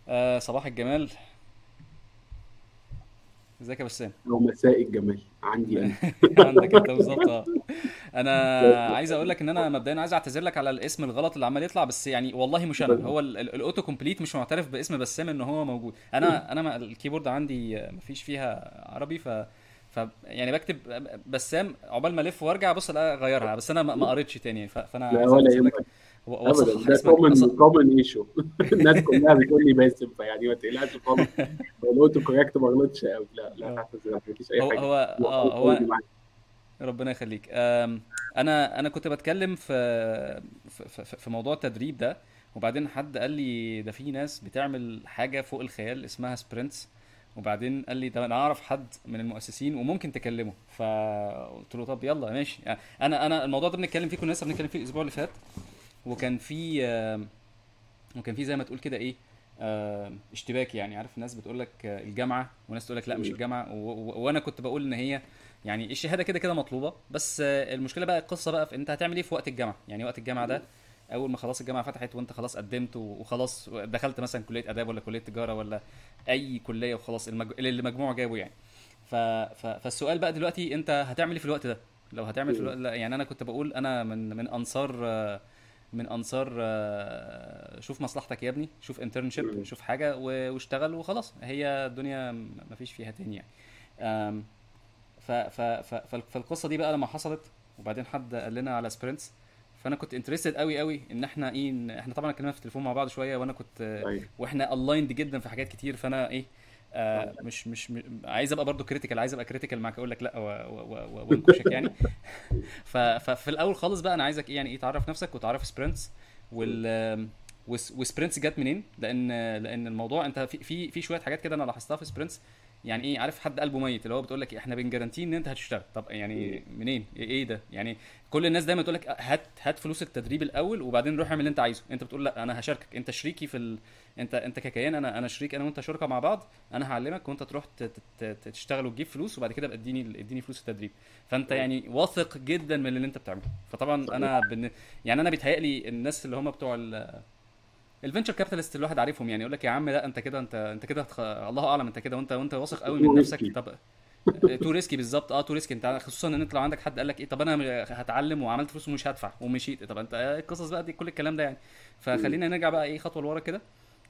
صباح الجمال. ازيك يا بسام؟ او مساء الجمال عندي انا. عندك انت بالظبط، اه. انا عايز اقول لك ان انا مبدئيا عايز اعتذر لك على الاسم الغلط اللي عمال يطلع، بس يعني والله مش انا، هو الاوتو كومبليت مش معترف باسم بسام ان هو موجود. انا الكيبورد عندي مفيش فيها عربي، يعني بكتب بسام عقبال ما الف وارجع ابص الاقي غيرها، بس انا ما قريتش تاني، فانا لا عايز ولا اعتذر لك يهمك ابدا، واصحح ده اسمك كومن ايشو. الناس كلها بتقول لي باسم، فيعني ما تقلقش خالص. لو قلت كوريكت ما غلطش قوي، لا لا اه. تعتذر، مفيش اي هو حاجه. هو هو اه غلطان هو معاك. ربنا يخليك. انا كنت بتكلم في موضوع التدريب ده، وبعدين حد قال لي ده في ناس بتعمل حاجه فوق الخيال اسمها سبرنتس، وبعدين قال لي ده انا اعرف حد من المؤسسين وممكن تكلمه، فقلت له طب يلا ماشي. يعني انا الموضوع ده بنتكلم فيه، كنا لسه بنتكلم فيه الاسبوع اللي فات، وكان في وكان في زي ما تقول كده ايه، اشتباك. يعني عارف الناس بتقول لك الجامعه، وناس تقول لك لا مش الجامعه، وانا كنت بقول ان هي يعني الشهاده كده كده مطلوبه، بس المشكله بقى القصه بقى في انت هتعمل ايه في وقت الجامعه. يعني وقت الجامعه ده اول ما خلاص الجامعه فتحت وانت خلاص قدمت وخلاص دخلت مثلا كليه اداب ولا كليه تجاره ولا اي كليه، وخلاص اللي مجموعه جابه يعني. فالسؤال بقى دلوقتي انت هتعمل ايه في الوقت ده؟ لو هتعمل في الوقت لا، يعني انا كنت بقول انا من انصار شوف مصلحتك يا ابني، شوف انترنشيب، شوف حاجه واشتغل وخلاص، هي الدنيا مفيش فيها تاني يعني. آم، فالقصه دي بقى لما حصلت، وبعدين حد قال لنا على سبرنتس، فانا كنت انترستد قوي قوي ان احنا ايه، احنا طبعا اتكلمنا في التليفون مع بعض شويه، وانا كنت طيب. واحنا الايند جدا في حاجات كتير، فانا ايه، مش عايز ابقى برضو كريتيكال، عايز ابقى كريتيكال معاك، اقول لك لا وانكشك يعني. ففي الاول خالص بقى انا عايزك ايه، يعني ايه، تعرف نفسك وتعرف سبرنتس وسبرنتس جت منين، لان الموضوع انت في شويه حاجات كده انا لاحظتها في سبرنتس. يعني ايه، عارف حد قلبه ميت اللي هو بتقول لك احنا بنجارانتي ان انت هتشتغل، طب يعني منين، إيه ده يعني؟ كل الناس دايما تقول لك هات فلوس التدريب الاول وبعدين روح اعمل اللي انت عايزه، انت بتقول لا انا هشاركك، انت شريكي انت ككيان، انا شريك، انا وانت شركاء مع بعض، انا هعلمك وانت تروح تشتغل وتجيب فلوس، وبعد كده بقى اديني فلوس التدريب. فانت يعني واثق جدا من اللي انت بتعمله. فطبعا صحيح. يعني انا بيتهيألي الناس اللي هم بتوع الفينشر كابيتالست الواحد عارفهم، يعني يقول لك يا عم لا انت كده، انت كده الله اعلم، انت كده وانت واثق قوي تو من نفسك. ريسكي. طب تو ريسكي بالظبط، تو ريسكي، انت خصوصا ان انت لو عندك حد قال لك ايه، طب انا هتعلم وعملت فلوس ومش هدفع ومشيت، طب انت القصص بقى دي كل الكلام ده يعني. فخلينا نرجع بقى ايه خطوه لورا كده.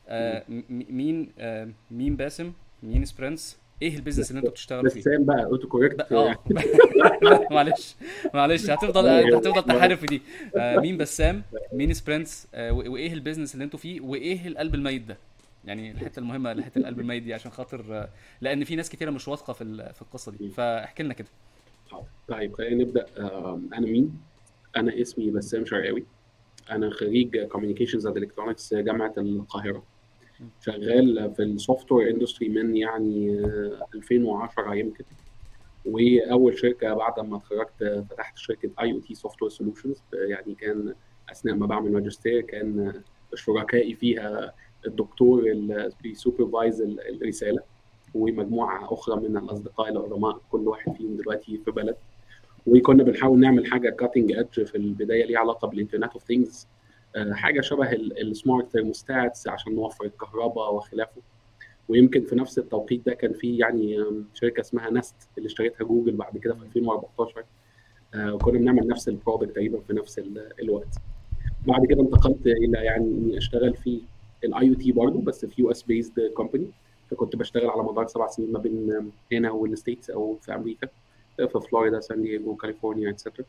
مين باسم، مين سبرنتس، ايه البيزنس اللي انتوا بتشتغلوا بس فيه؟ سام بقى اوتو كوريكت اه. يعني. لا معلش، معلش ولا هتفضل يهمك. تحارب في دي. مين بسام، مين سبرنتس، وايه البيزنس اللي انتوا فيه، وايه القلب الميت ده؟ يعني الحته المهمه، حته القلب الميت دي، عشان خاطر لان في ناس كتيره مش واثقه في القصه دي، فاحكي لنا كده. حاضر. طيب خلينا نبدا. انا مين؟ انا اسمي بسام شرقاوي. انا خريج كوميونيكيشنز اند الكترونكس جامعه القاهره. شغال في السوفت وير اندستري من يعني 2010 يمكن. واول شركه بعد ما اتخرجت فتحت شركه اي او تي سوفت وير سولوشنز، يعني كان اثناء ما بعمل ماجستير كان شركائي فيها الدكتور اللي بيسوبرفايز الرساله، ومجموعه اخرى من الاصدقاء العلماء، كل واحد فيهم دلوقتي في بلد. وكنا بنحاول نعمل حاجه كاتنج ايدج في البدايه ليها علاقه بالانترنت اوف ثينجز، حاجه شبه السمارت ثيرموستاتس عشان نوفر الكهرباء وخلافه. ويمكن في نفس التوقيت ده كان في يعني شركه اسمها نست اللي اشتريتها جوجل بعد كده في 2014. وكنا بنعمل نفس البرودكت تقريبا في نفس الوقت. بعد كده انتقلت الى يعني اني اشتغل في الاي او تي برضه، بس في يو اس بيزد كومباني. فكنت بشتغل على مدار 7 سنين ما بين هنا والستيتس او في امريكا، في فلوريدا، سان دييغو، كاليفورنيا، اتسترا.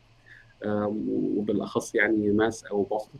وبالاخص يعني ماس او بوسطن.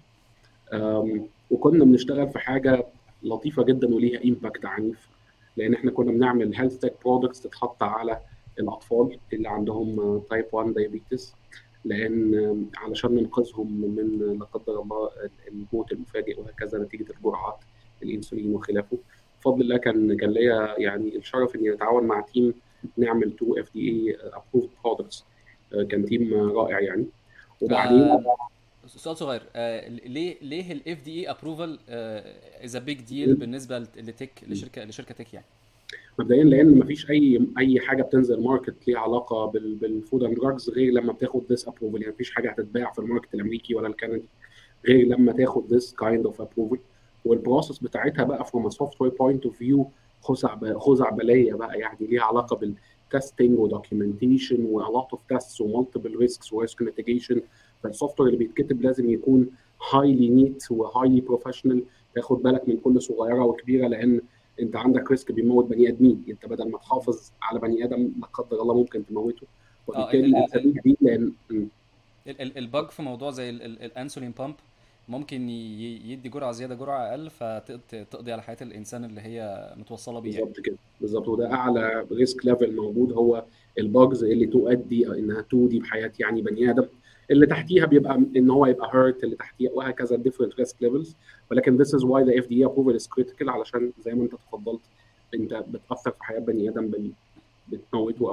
وكنا بنشتغل في حاجه لطيفه جدا وليها امباكت عنيف، لان احنا كنا بنعمل هيلث تك برودكتس تتحط على الاطفال اللي عندهم تايب 1 دايابيتس، لان علشان ننقذهم من لا قدر الله الموت المفاجئ وهكذا نتيجه الجرعات الانسولين وخلافه. بفضل الله كان ليا يعني الشرف اني اتعاون مع تيم نعمل 2 اف دي اي ابروفد برودكتس. كان تيم رائع يعني. وبعدين سؤال صغير، ليه الاف دي اي ابروفال از بيج ديل بالنسبه لتك، لشركه تك يعني؟ مبدئيا لان مفيش اي حاجه بتنزل ماركت ليها علاقه بالفود اند دراجز غير لما بتاخد ذس ابروفل. يعني مفيش حاجه هتتباع في الماركت الامريكي ولا الكندي غير لما تاخد ذس كايند اوف ابروفل. والبروسيس بتاعتها بقى from a software point of view خزعبليه بقى، يعني ليها علاقه بالتستنج ودوكيومنتيشن و a lot of tests و multiple risks و risk mitigation. فالسوفت وير اللي بيتكتب لازم يكون highly neat و highly professional، تاخد بالك من كل صغيره وكبيره، لان انت عندك ريسك بيموت بني ادمين، انت بدل ما تحافظ على بني ادم لا قدر الله ممكن تموته. اه وبالتالي الاسابيع دي لان البج في موضوع زي الانسولين بامب ممكن يدي جرعه زياده جرعه اقل فتقضي على حياه الانسان اللي هي متوصله بيه يعني. بالظبط كده، بالظبط. وده اعلى ريسك ليفل موجود، هو الباجز اللي تؤدي انها تودي بحياه يعني بني ادم. اللي تحتيها بيبقى ان هو يبقى هيرت، اللي تحتيها وهكذا different risk levels. ولكن this is why the FDA approval is critical، علشان زي ما انت تفضلت، انت بتاثر في حياه بني ادم بتموته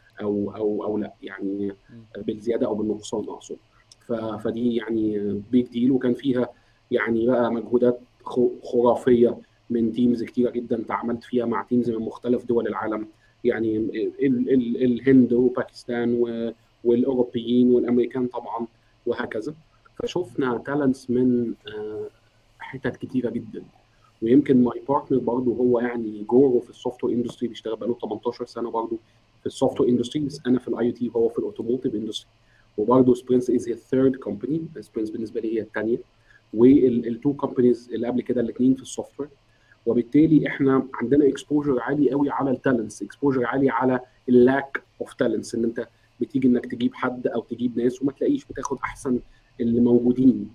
او لا يعني، بالزياده او بالنقصان اقصد. فدي يعني بيج ديل، وكان فيها يعني بقى مجهودات خرافيه من تيمز كتيره جدا، تعاملت فيها مع تيمز من مختلف دول العالم، يعني الهند وباكستان والاوروبيين والامريكان طبعا وهكذا. فشفنا تالنتس من حتت كتيره جدا. ويمكن ماي بارتنر برضه هو يعني جوره في السوفت وير اندستري، بيشتغل بقاله 18 سنه برضه في السوفت وير اندستري، بس انا في الاي تي وهو في الاوتوموتيف اندستري. وبرضه سبرينس از هي ثيرد كومباني، سبرينس بالنسبه لي هي الثانيه، والتو كومبانيز اللي قبل كده الاثنين في السوفت وير. وبالتالي احنا عندنا اكسبوجر عالي قوي على التالنتس، اكسبوجر عالي على اللاك اوف تالنتس، ان انت بتيجي انك تجيب حد او تجيب ناس وما تلاقيش، بتاخد احسن اللي موجودين.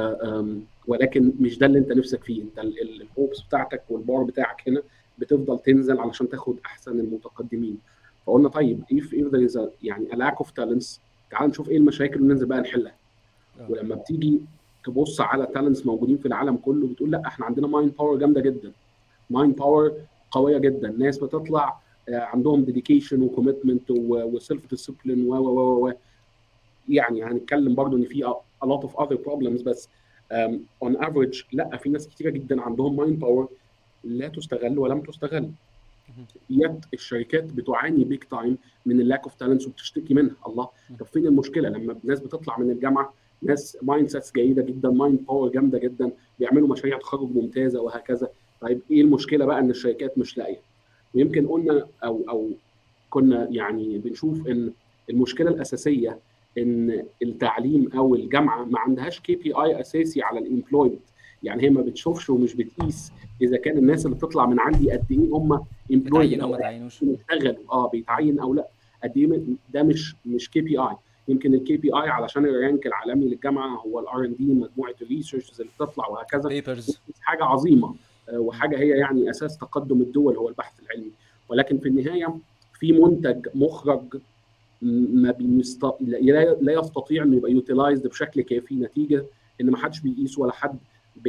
ولكن مش ده اللي انت نفسك فيه، انت الهوبس بتاعتك والبار بتاعك هنا بتفضل تنزل علشان تاخد احسن المتقدمين. فقلنا طيب if there is يعني a lack of talents، تعال نشوف ايه المشاكل وننزل بقى نحلها. ولما بتيجي تبص على تالنتس موجودين في العالم كله، بتقول لا احنا عندنا مايند باور جامده جدا، مايند باور قويه جدا، ناس بتطلع عندهم ديديكيشن وكوميتمنت وسيلف ديسيبلين و يعني هنتكلم برضو ان في a lot of other problems، بس on average لا، في ناس كتيره جدا عندهم مايند باور لا تستغل ولم تستغل. يد الشركات بتعاني بيك تايم من اللاك اوف تالنتس وبتشتكي منها. الله، طب فين المشكله لما الناس بتطلع من الجامعه ناس مايند سيتس جيده جدا، مايند باور جامده جدا، بيعملوا مشاريع تخرج ممتازه وهكذا؟ طيب ايه المشكله بقى ان الشركات مش لاقيه؟ ويمكن قلنا او كنا يعني بنشوف ان المشكله الاساسيه ان التعليم او الجامعه ما عندهاش كي بي اي اساسي على الامبلويمنت. يعني هي ما بتشوفش ومش بتقيس اذا كان الناس اللي بتطلع من عندي قد ايه هم امبلويبل بتعينوا او ما تعينوش. بيشتغلوا، بيتعين او لا، قد ايه ده مش كي بي اي. يمكن الكي بي اي علشان الرانك العالمي للجامعه هو الار ان دي، مجموعه الريسيرش اللي بتطلع وهكذا، بيبرز. حاجه عظيمه وحاجه هي يعني اساس تقدم الدول هو البحث العلمي. ولكن في النهايه في منتج مخرج ما لا يستطيع انه يبقى يوتيلايزد بشكل كافي، نتيجه ان ما حدش بيقيس ولا حد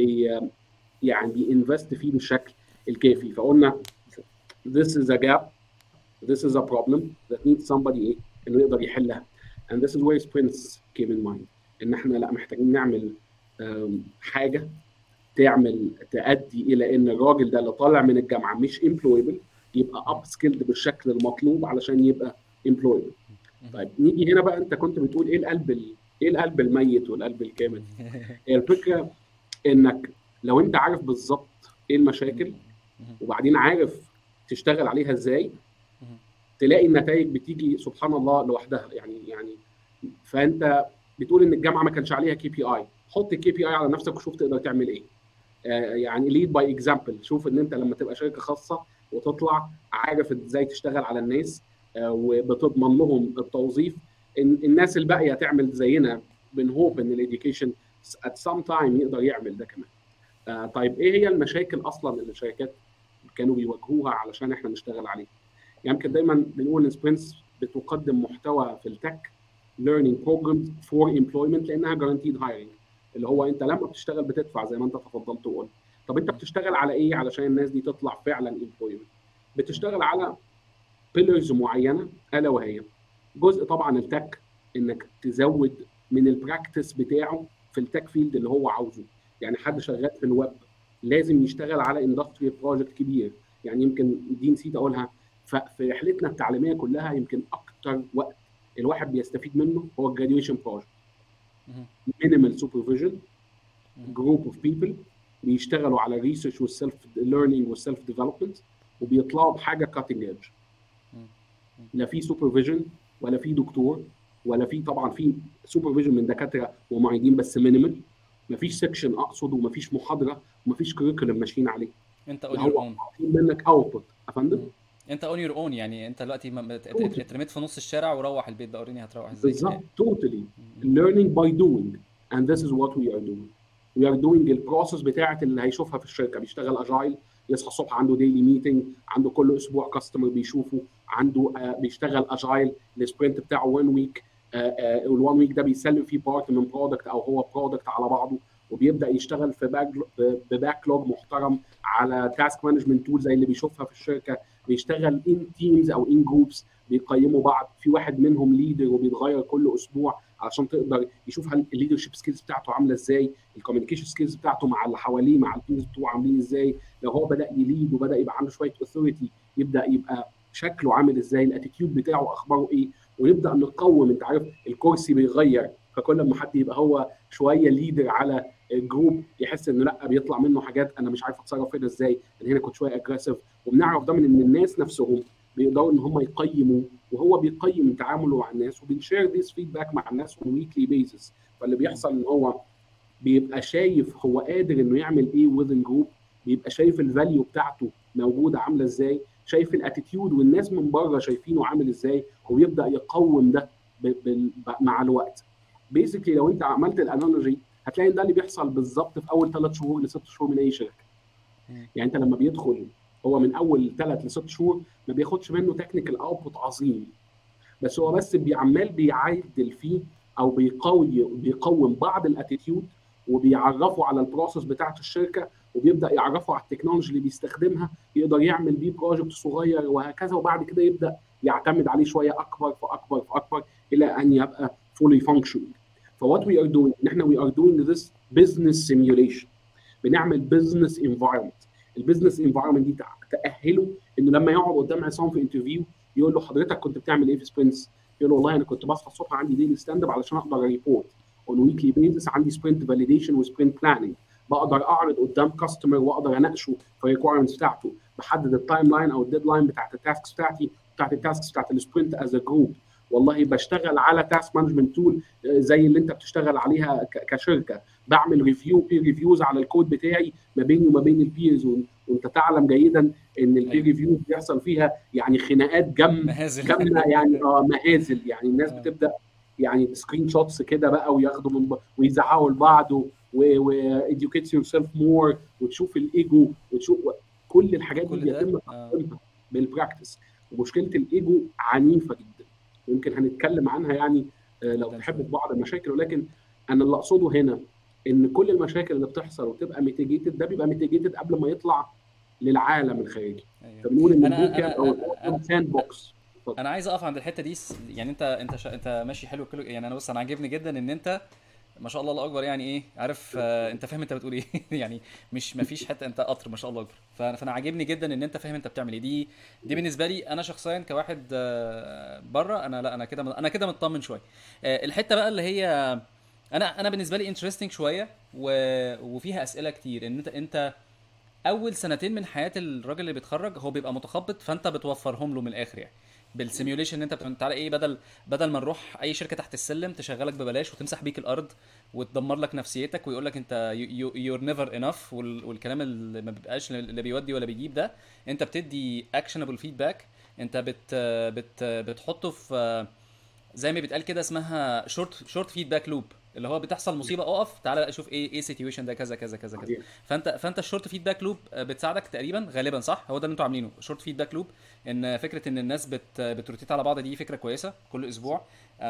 يعني بينفست فيه بالشكل الكافي. فقلنا this is a gap, this is a problem that needs somebody انه يقدر يحلها. and this is where sprints came in mind، ان احنا لا محتاجين نعمل حاجه تؤدي الى ان الراجل ده اللي طالع من الجامعه مش امبلويبل يبقى اب سكيلد بالشكل المطلوب علشان يبقى امبلويبل. طيب نيجي هنا بقى، انت كنت بتقول ايه القلب الميت والقلب الكامل. هي الفكره انك لو انت عارف بالظبط ايه المشاكل وبعدين عارف تشتغل عليها ازاي، تلاقي النتائج بتيجي سبحان الله لوحدها. يعني فانت بتقول ان الجامعه ما كانش عليها كي بي اي، حط الكي بي اي على نفسك وشوف تقدر تعمل ايه. يعني ليد باي اكزامبل، شوف ان انت لما تبقى شركه خاصه وتطلع عارف ازاي تشتغل على الناس وبتضمن لهم التوظيف، الناس الباقيه تعمل زينا. بنهوب ان الاديوكيشن at some time يقدر يعمل ده كمان. طيب ايه هي المشاكل اصلا اللي الشركات كانوا بيواجهوها علشان احنا نشتغل عليها؟ يمكن دايما بنقول ان سبرينتس بتقدم محتوى في التك learning programs for employment لانها guaranteed hiring، اللي هو انت لما بتشتغل بتدفع زي ما انت تفضلت وقلت. طب انت بتشتغل على ايه علشان الناس دي تطلع فعلا employment؟ بتشتغل على بيلرز معينه، الا وهي جزء طبعا التك، انك تزود من البراكتس بتاعه في التك فيلد اللي هو عاوزه. يعني حد شغال في الويب لازم يشتغل على اندستري بروجكت كبير. يعني يمكن دي نسيت اقولها، ففي رحلتنا التعليميه كلها يمكن اكتر وقت الواحد بيستفيد منه هو الجراديويشن بروجكت. مينيمال سوبرفيجن، جروب اوف بيبل، بيشتغلوا على ريسيرش والسيلف ليرنينج والسيلف ديفلوبمنت، وبيطلعوا بحاجه كاتنج ايدج. لا في سوبرفيجن ولا في دكتور ولا في، طبعا في سوبرفيجن من دكاتره ومعيدين بس مينيمال، مفيش سكشن اقصد، ومفيش محاضره ومفيش كوريكولم ماشيين عليه. انت لا اون يور هو اون. عاطين منك اوتبوت يا فندم. انت اون يور اون، يعني انت دلوقتي Totally. اترميت في نص الشارع وروح البيت بقى وريني هتروح ازاي. بالظبط totally learning by doing and this is what we are doing. we are doing البروسيس بتاعت اللي هيشوفها في الشركه، بيشتغل اجايل، يصحى الصبح عنده ديلي ميتنج، عنده كل اسبوع كاستمر بيشوفه، عنده بيشتغل اجايل السبرنت بتاعه 1 ويك، وال1 ويك ده بيسلم فيه بارت من برودكت او هو برودكت على بعضه، وبيبدا يشتغل في باك لوج محترم على تاسك مانجمنت تول زي اللي بيشوفها في الشركه، بيشتغل ان تيمز او ان جروبس بيقيموا بعض، في واحد منهم ليدر وبيتغير كل اسبوع عشان تقدر يشوف هل الليدرشيب سكيلز بتاعته عامله ازاي، الكوميونيكيشن سكيلز بتاعته مع اللي حواليه مع التيمز بتوعه عاملين ازاي، لو هو بدا يليد وبدا يبقى عنده شويه اوثوريتي يبدا يبقى شكله عامل ازاي، الاتيتيود بتاعه اخباره ايه، ونبدا نقوم. انت عارف الكرسي بيغير، فكل ما حد يبقى هو شويه ليدر على الجروب يحس انه لا بيطلع منه حاجات انا مش عارف اتصرف هنا ازاي، انا هنا كنت شويه اجريسيف، وبنعرف ده من ان الناس نفسهم بيقدروا ان هم يقيموا، وهو بيقيم تعامله مع الناس، وبنشير ذيس فيدباك مع الناس on weekly basis. فاللي بيحصل ان هو بيبقى شايف هو قادر انه يعمل ايه within جروب، بيبقى شايف الفاليو بتاعته موجوده عامله ازاي، شايف الاتيتيود والناس من بره شايفينه عامل ازاي، وبيبدا يقوم ده مع الوقت. بيسكلي لو انت عملت الانالوجي هتلاقي ان ده اللي بيحصل بالظبط في اول 3 شهور ل 6 شهور من اي شركه. يعني انت لما بيدخل هو من اول 3 ل 6 شهور ما بياخدش منه تكنيكال اوتبوت عظيم، بس هو بس بيعمل بيعدل فيه او بيقوم بعض الاتيتيود، وبيعرفوا على البروسيس بتاعت الشركه، وبيبدا يعرفوا على التكنولوجي اللي بيستخدمها، يقدر يعمل بيه بروجكت صغير وهكذا، وبعد كده يبدا يعتمد عليه شويه اكبر فاكبر فاكبر الى ان يبقى fully functioning. فوات وي ار دوينج ان احنا وي ار دوينج ذس بزنس سيميوليشن، بنعمل بزنس انفايرمنت. البزنس انفايرمنت دي تاهله انه لما يقعد قدام عصام في انترفيو يقول له حضرتك كنت بتعمل ايه في سبرنتس؟ يقول له والله انا كنت بصحى الصبح عندي ديلي ستاند اب علشان اقدر ريبورت اون ويكلي بيزس، عندي سبرنت فاليديشن وسبرنت بلاننج، بقدر اعرض قدام كاستمر واقدر اناقشه في الريكوايرمنتس بتاعته، بحدد التايم لاين او الديدلاين بتاعت التاسكس بتاعتي بتاعت التاسكس بتاعت السبرنت از ا جروب. والله بشتغل على تاسك مانجمنت تول زي اللي انت بتشتغل عليها كشركه، بعمل ريفيوز على الكود بتاعي ما بيني وما بين البيرز، وانت تعلم جيدا ان البير ريفيو بيحصل فيها يعني خناقات جامه يعني مهازل، يعني الناس بتبدا يعني سكرين شوتس كده بقى وياخدوا من ويزعقوا لبعض واديوكيت يور سيلف مور، وتشوف الايجو وتشوف كل الحاجات دي بيتم تحقيقها بالبراكتس. ومشكله الايجو عنيفه جدا، يمكن هنتكلم عنها يعني لو تحب في بعض المشاكل، ولكن انا اللي اقصده هنا ان كل المشاكل اللي بتحصل وتبقى ميتيجيتد ده بيبقى ميتيجيتد قبل ما يطلع للعالم الخارجي. فبنقول ان البوت او ساند بوكس. انا عايز اقف عند الحته دي، يعني انت ماشي حلو كله، يعني انا بص انا عاجبني جدا ان انت ما شاء الله الله اكبر، يعني ايه عارف انت فاهم انت بتقول ايه يعني مش ما فيش حته، انت قطر ما شاء الله اكبر. فانا عاجبني جدا ان انت فاهم انت بتعمل ايه. دي بالنسبه لي انا شخصيا كواحد بره، انا كده مطمن شويه. الحته بقى اللي هي انا بالنسبه لي انترستنج شويه وفيها اسئله كتير، ان انت اول سنتين من حياه الراجل اللي بيتخرج هو بيبقى متخبط، فانت بتوفرهم له من الاخر يعني بالسيميوليشن. ان انت تعالى ايه، بدل ما نروح اي شركه تحت السلم تشغلك ببلاش وتمسح بيك الارض وتدمر لك نفسيتك ويقول لك انت يور نيفر انف والكلام اللي ما بيبقاش اللي بيودي ولا بيجيب ده، انت بتدي اكشنبل فيدباك، انت بتحطه في زي ما بيتقال كده اسمها شورت فيدباك لوب، اللي هو بتحصل مصيبه اقف تعالى اشوف ايه سيتويشن ده كذا كذا كذا كذا. فانت الشورت فيدباك لوب بتساعدك تقريبا غالبا، صح؟ هو ده اللي انتوا عاملينه شورت فيدباك لوب، ان فكره ان الناس بتروتيت على بعض، دي فكره كويسه كل اسبوع.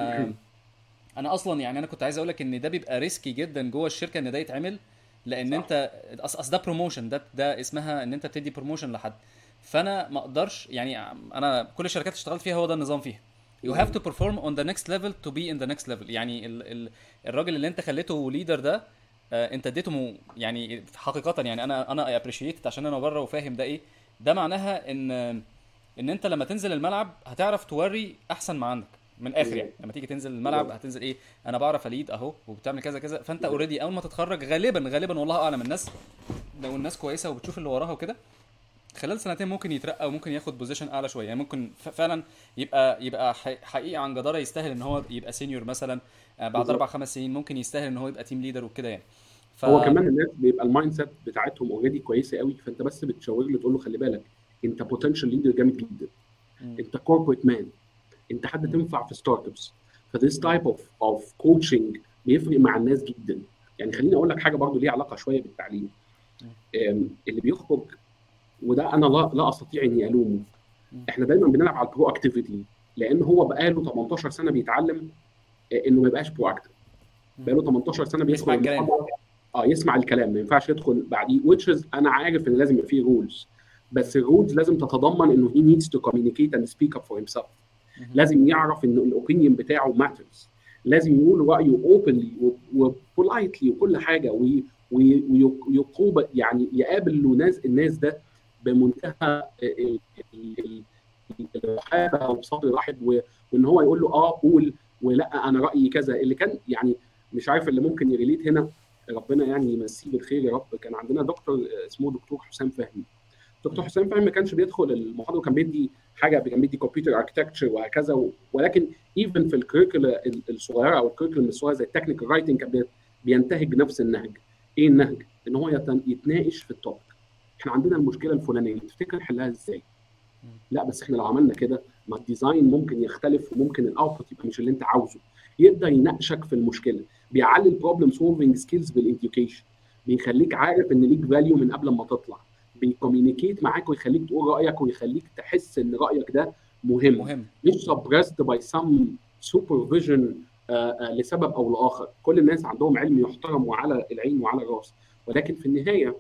انا اصلا يعني انا كنت عايز اقول لك ان ده بيبقى ريسكي جدا جوه الشركه ان ده يتعمل، لان انت اصل ده بروموشن، ده اسمها ان انت بتدي بروموشن لحد. فانا ما اقدرش يعني، انا كل الشركات اللي اشتغلت فيها هو ده النظام فيها، you have to perform on the next level to be in the next level. يعني الراجل اللي انت خليته ليدر ده انت اديته يعني حقيقه، يعني انا appreciate عشان انا بره وفاهم ده ايه. ده معناها ان انت لما تنزل الملعب هتعرف توري احسن ما عندك، من الاخر يعني لما تيجي تنزل الملعب هتنزل ايه، انا بعرف اليد اهو وبتعمل كذا كذا، فانت اوريدي اول ما تتخرج غالبا والله اعلم، الناس لو الناس كويسه وبتشوف اللي وراها وكده خلال سنتين ممكن يترقى وممكن ياخد بوزيشن اعلى شويه، يعني ممكن فعلا يبقى حقيقي عن جداره يستاهل ان هو يبقى سينيور مثلا، بعد بالظبط. 4 5 سنين ممكن يستاهل ان هو يبقى تيم ليدر وكده يعني. ف هو كمان الناس بيبقى المايند سيت بتاعتهم اوريدي كويسه قوي، فانت بس بتشاور له تقول له خلي بالك انت بوتنشال ليدر جامد جدا، م- انت كوربريت مان، انت حد م- تنفع في ستارت ابس. فذيس م- تايب اوف كوتشنج بيفرق مع الناس جدا. يعني خليني اقول لك حاجه برضو ليها علاقه شويه بالتعليم. م- اللي بيخرج، وده انا لا استطيع اني الومه، م- احنا دايما بنلعب على البرو اكتيفيتي، لان هو بقاله 18 سنه بيتعلم انه ما يبقاش برو اكتيف. م. بقاله 18 سنه بيدخل يسمع الكلام. المحاضره، يسمع الكلام، ما ينفعش يدخل بعديه. which is انا عارف ان لازم يبقى فيه رولز، م- بس الرولز لازم تتضمن انه he needs to communicate and speak up for himself. م- لازم يعرف ان الاوبينيون بتاعه matters، لازم يقول رايه openly وبولايتلي وكل حاجه، ويقوب يعني يقابل الناس ده بمنتهى الرحابه وبصدر رحب، وان هو يقول له قول، ولا انا رايي كذا. اللي كان يعني مش عارف اللي ممكن يريليت هنا، ربنا يعني يمسيه بالخير يا رب، كان عندنا دكتور اسمه دكتور حسام فهمي. دكتور م- حسام فهمي ما كانش بيدخل المحاضره وكان بيدي حاجه، كان بيدي كمبيوتر اركتكتشر وهكذا، ولكن ايفن في الكريكولا الصغيره او الكريكولا الصغيره زي التكنيكال رايتنج كان بينتهج نفس النهج. ايه النهج؟ ان هو يتناقش في التوبيك. احنا عندنا المشكله الفلانيه، تفتكر نحلها ازاي؟ م- لا بس احنا لو عملنا كده، ما الديزاين ممكن يختلف وممكن الاوتبوت يبقى مش اللي انت عاوزه. يبدا يناقشك في المشكله، بيعلي البروبلم سولفنج سكيلز بالإديوكيشن، بيخليك عارف ان ليك فاليو من قبل ما تطلع، بيكوميونيكيت معاك ويخليك تقول رايك ويخليك تحس ان رايك ده مهم، مهم. مش سبريست باي سم سوبرفيجن لسبب او لاخر. كل الناس عندهم علم يحترم وعلى العين وعلى الراس، ولكن في النهايه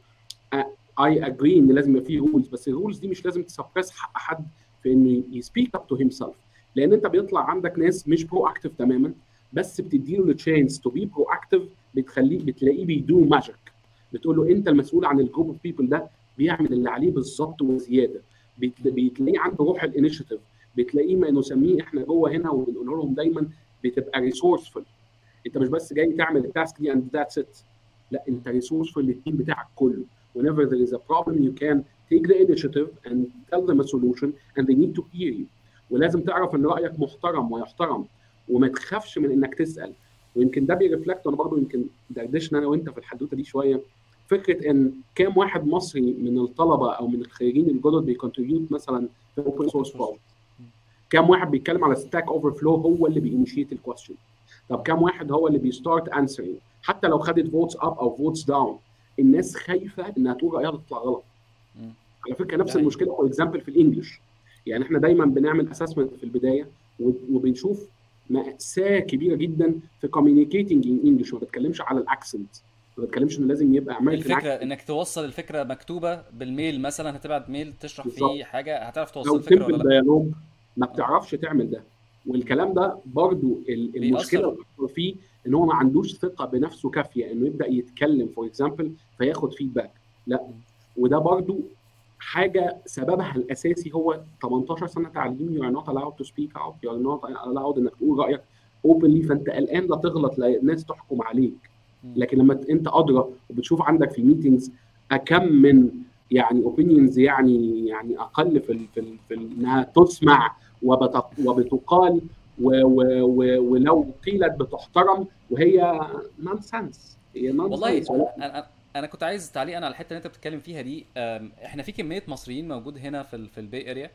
اي اجري ان لازم يبقى فيه رولز، بس الرولز دي مش لازم تسبرس حق حد في انه يسبيك اب تو هيم سيلف. لان انت بيطلع عندك ناس مش برو اكتف تماما، بس بتديله التشانس تو بي برو اكتف، بتلاقيه بيدو ماجيك، بتقول له انت المسؤول عن الجروب اوف بيبل ده، بيعمل اللي عليه بالظبط وزياده. م- بتلاقيه عنده روح الانيشيتيف، بتلاقيه ما نسميه احنا جوه هنا وبنقول لهم دايما بتبقى ريسورسفul. انت مش م- بس جاي تعمل التاسك دي اند ذاتس ات، لا م- انت ريسورسفul للتيم بتاعك كله. whenever there is a problem you can take the initiative and tell them a solution and they need to hear you. ولازم تعرف ان رايك محترم ويحترم، وما تخافش من انك تسال. ويمكن ده بيرفلكت، وانا برضو يمكن دردشنا انا وانت في الحدوته دي شويه، فكره ان كام واحد مصري من الطلبه او من الخريجين الجدد بيكونتريبيوت مثلا في اوبن open سورس source. بروجكت. كام واحد بيتكلم على ستاك اوفر فلو هو اللي بينيشيت الكويستشن؟ طب كام واحد هو اللي بيستارت انسرنج؟ حتى لو خدت فوتس اب او فوتس داون، الناس خايفه انها تقول رايها تطلع غلط. م. على فكره ده نفس حقيقي. المشكله فور اكزامبل في الانجليش. يعني احنا دايما بنعمل اسسمنت في البدايه، وبنشوف مأساة كبيره جدا في communicating in English. ما بتكلمش على الاكسنت، ما بتكلمش انه لازم يبقى امريكان الفكره اكسنت. انك توصل الفكره مكتوبه بالميل مثلا، هتبعت ميل تشرح بالظبط. فيه حاجه، هتعرف توصل او الفكره ولا سمبل لا؟ ديالوج، ما اه بتعرفش تعمل ده. والكلام ده برضو المشكله بيأثر. الاكبر فيه ان هو ما عندوش ثقه بنفسه كافيه انه يبدا يتكلم فور اكزامبل فياخد فيدباك. لا، م. وده برضو حاجه سببها الاساسي هو 18 سنه تعليم. you are not allowed to speak out, you are not allowed انك تقول رايك openly. فانت قلقان لا تغلط، لا الناس تحكم عليك. م. لكن لما انت ادرى وبتشوف عندك في الميتنجز كم من يعني اوبينيونز، يعني اقل في انها تسمع وبتقال، ولو قيلت بتحترم، وهي نونسنس، هي والله نونسنس. انا كنت عايز تعليقا على الحته اللي انت بتتكلم فيها دي. احنا في كميه مصريين موجود هنا في البي اريا.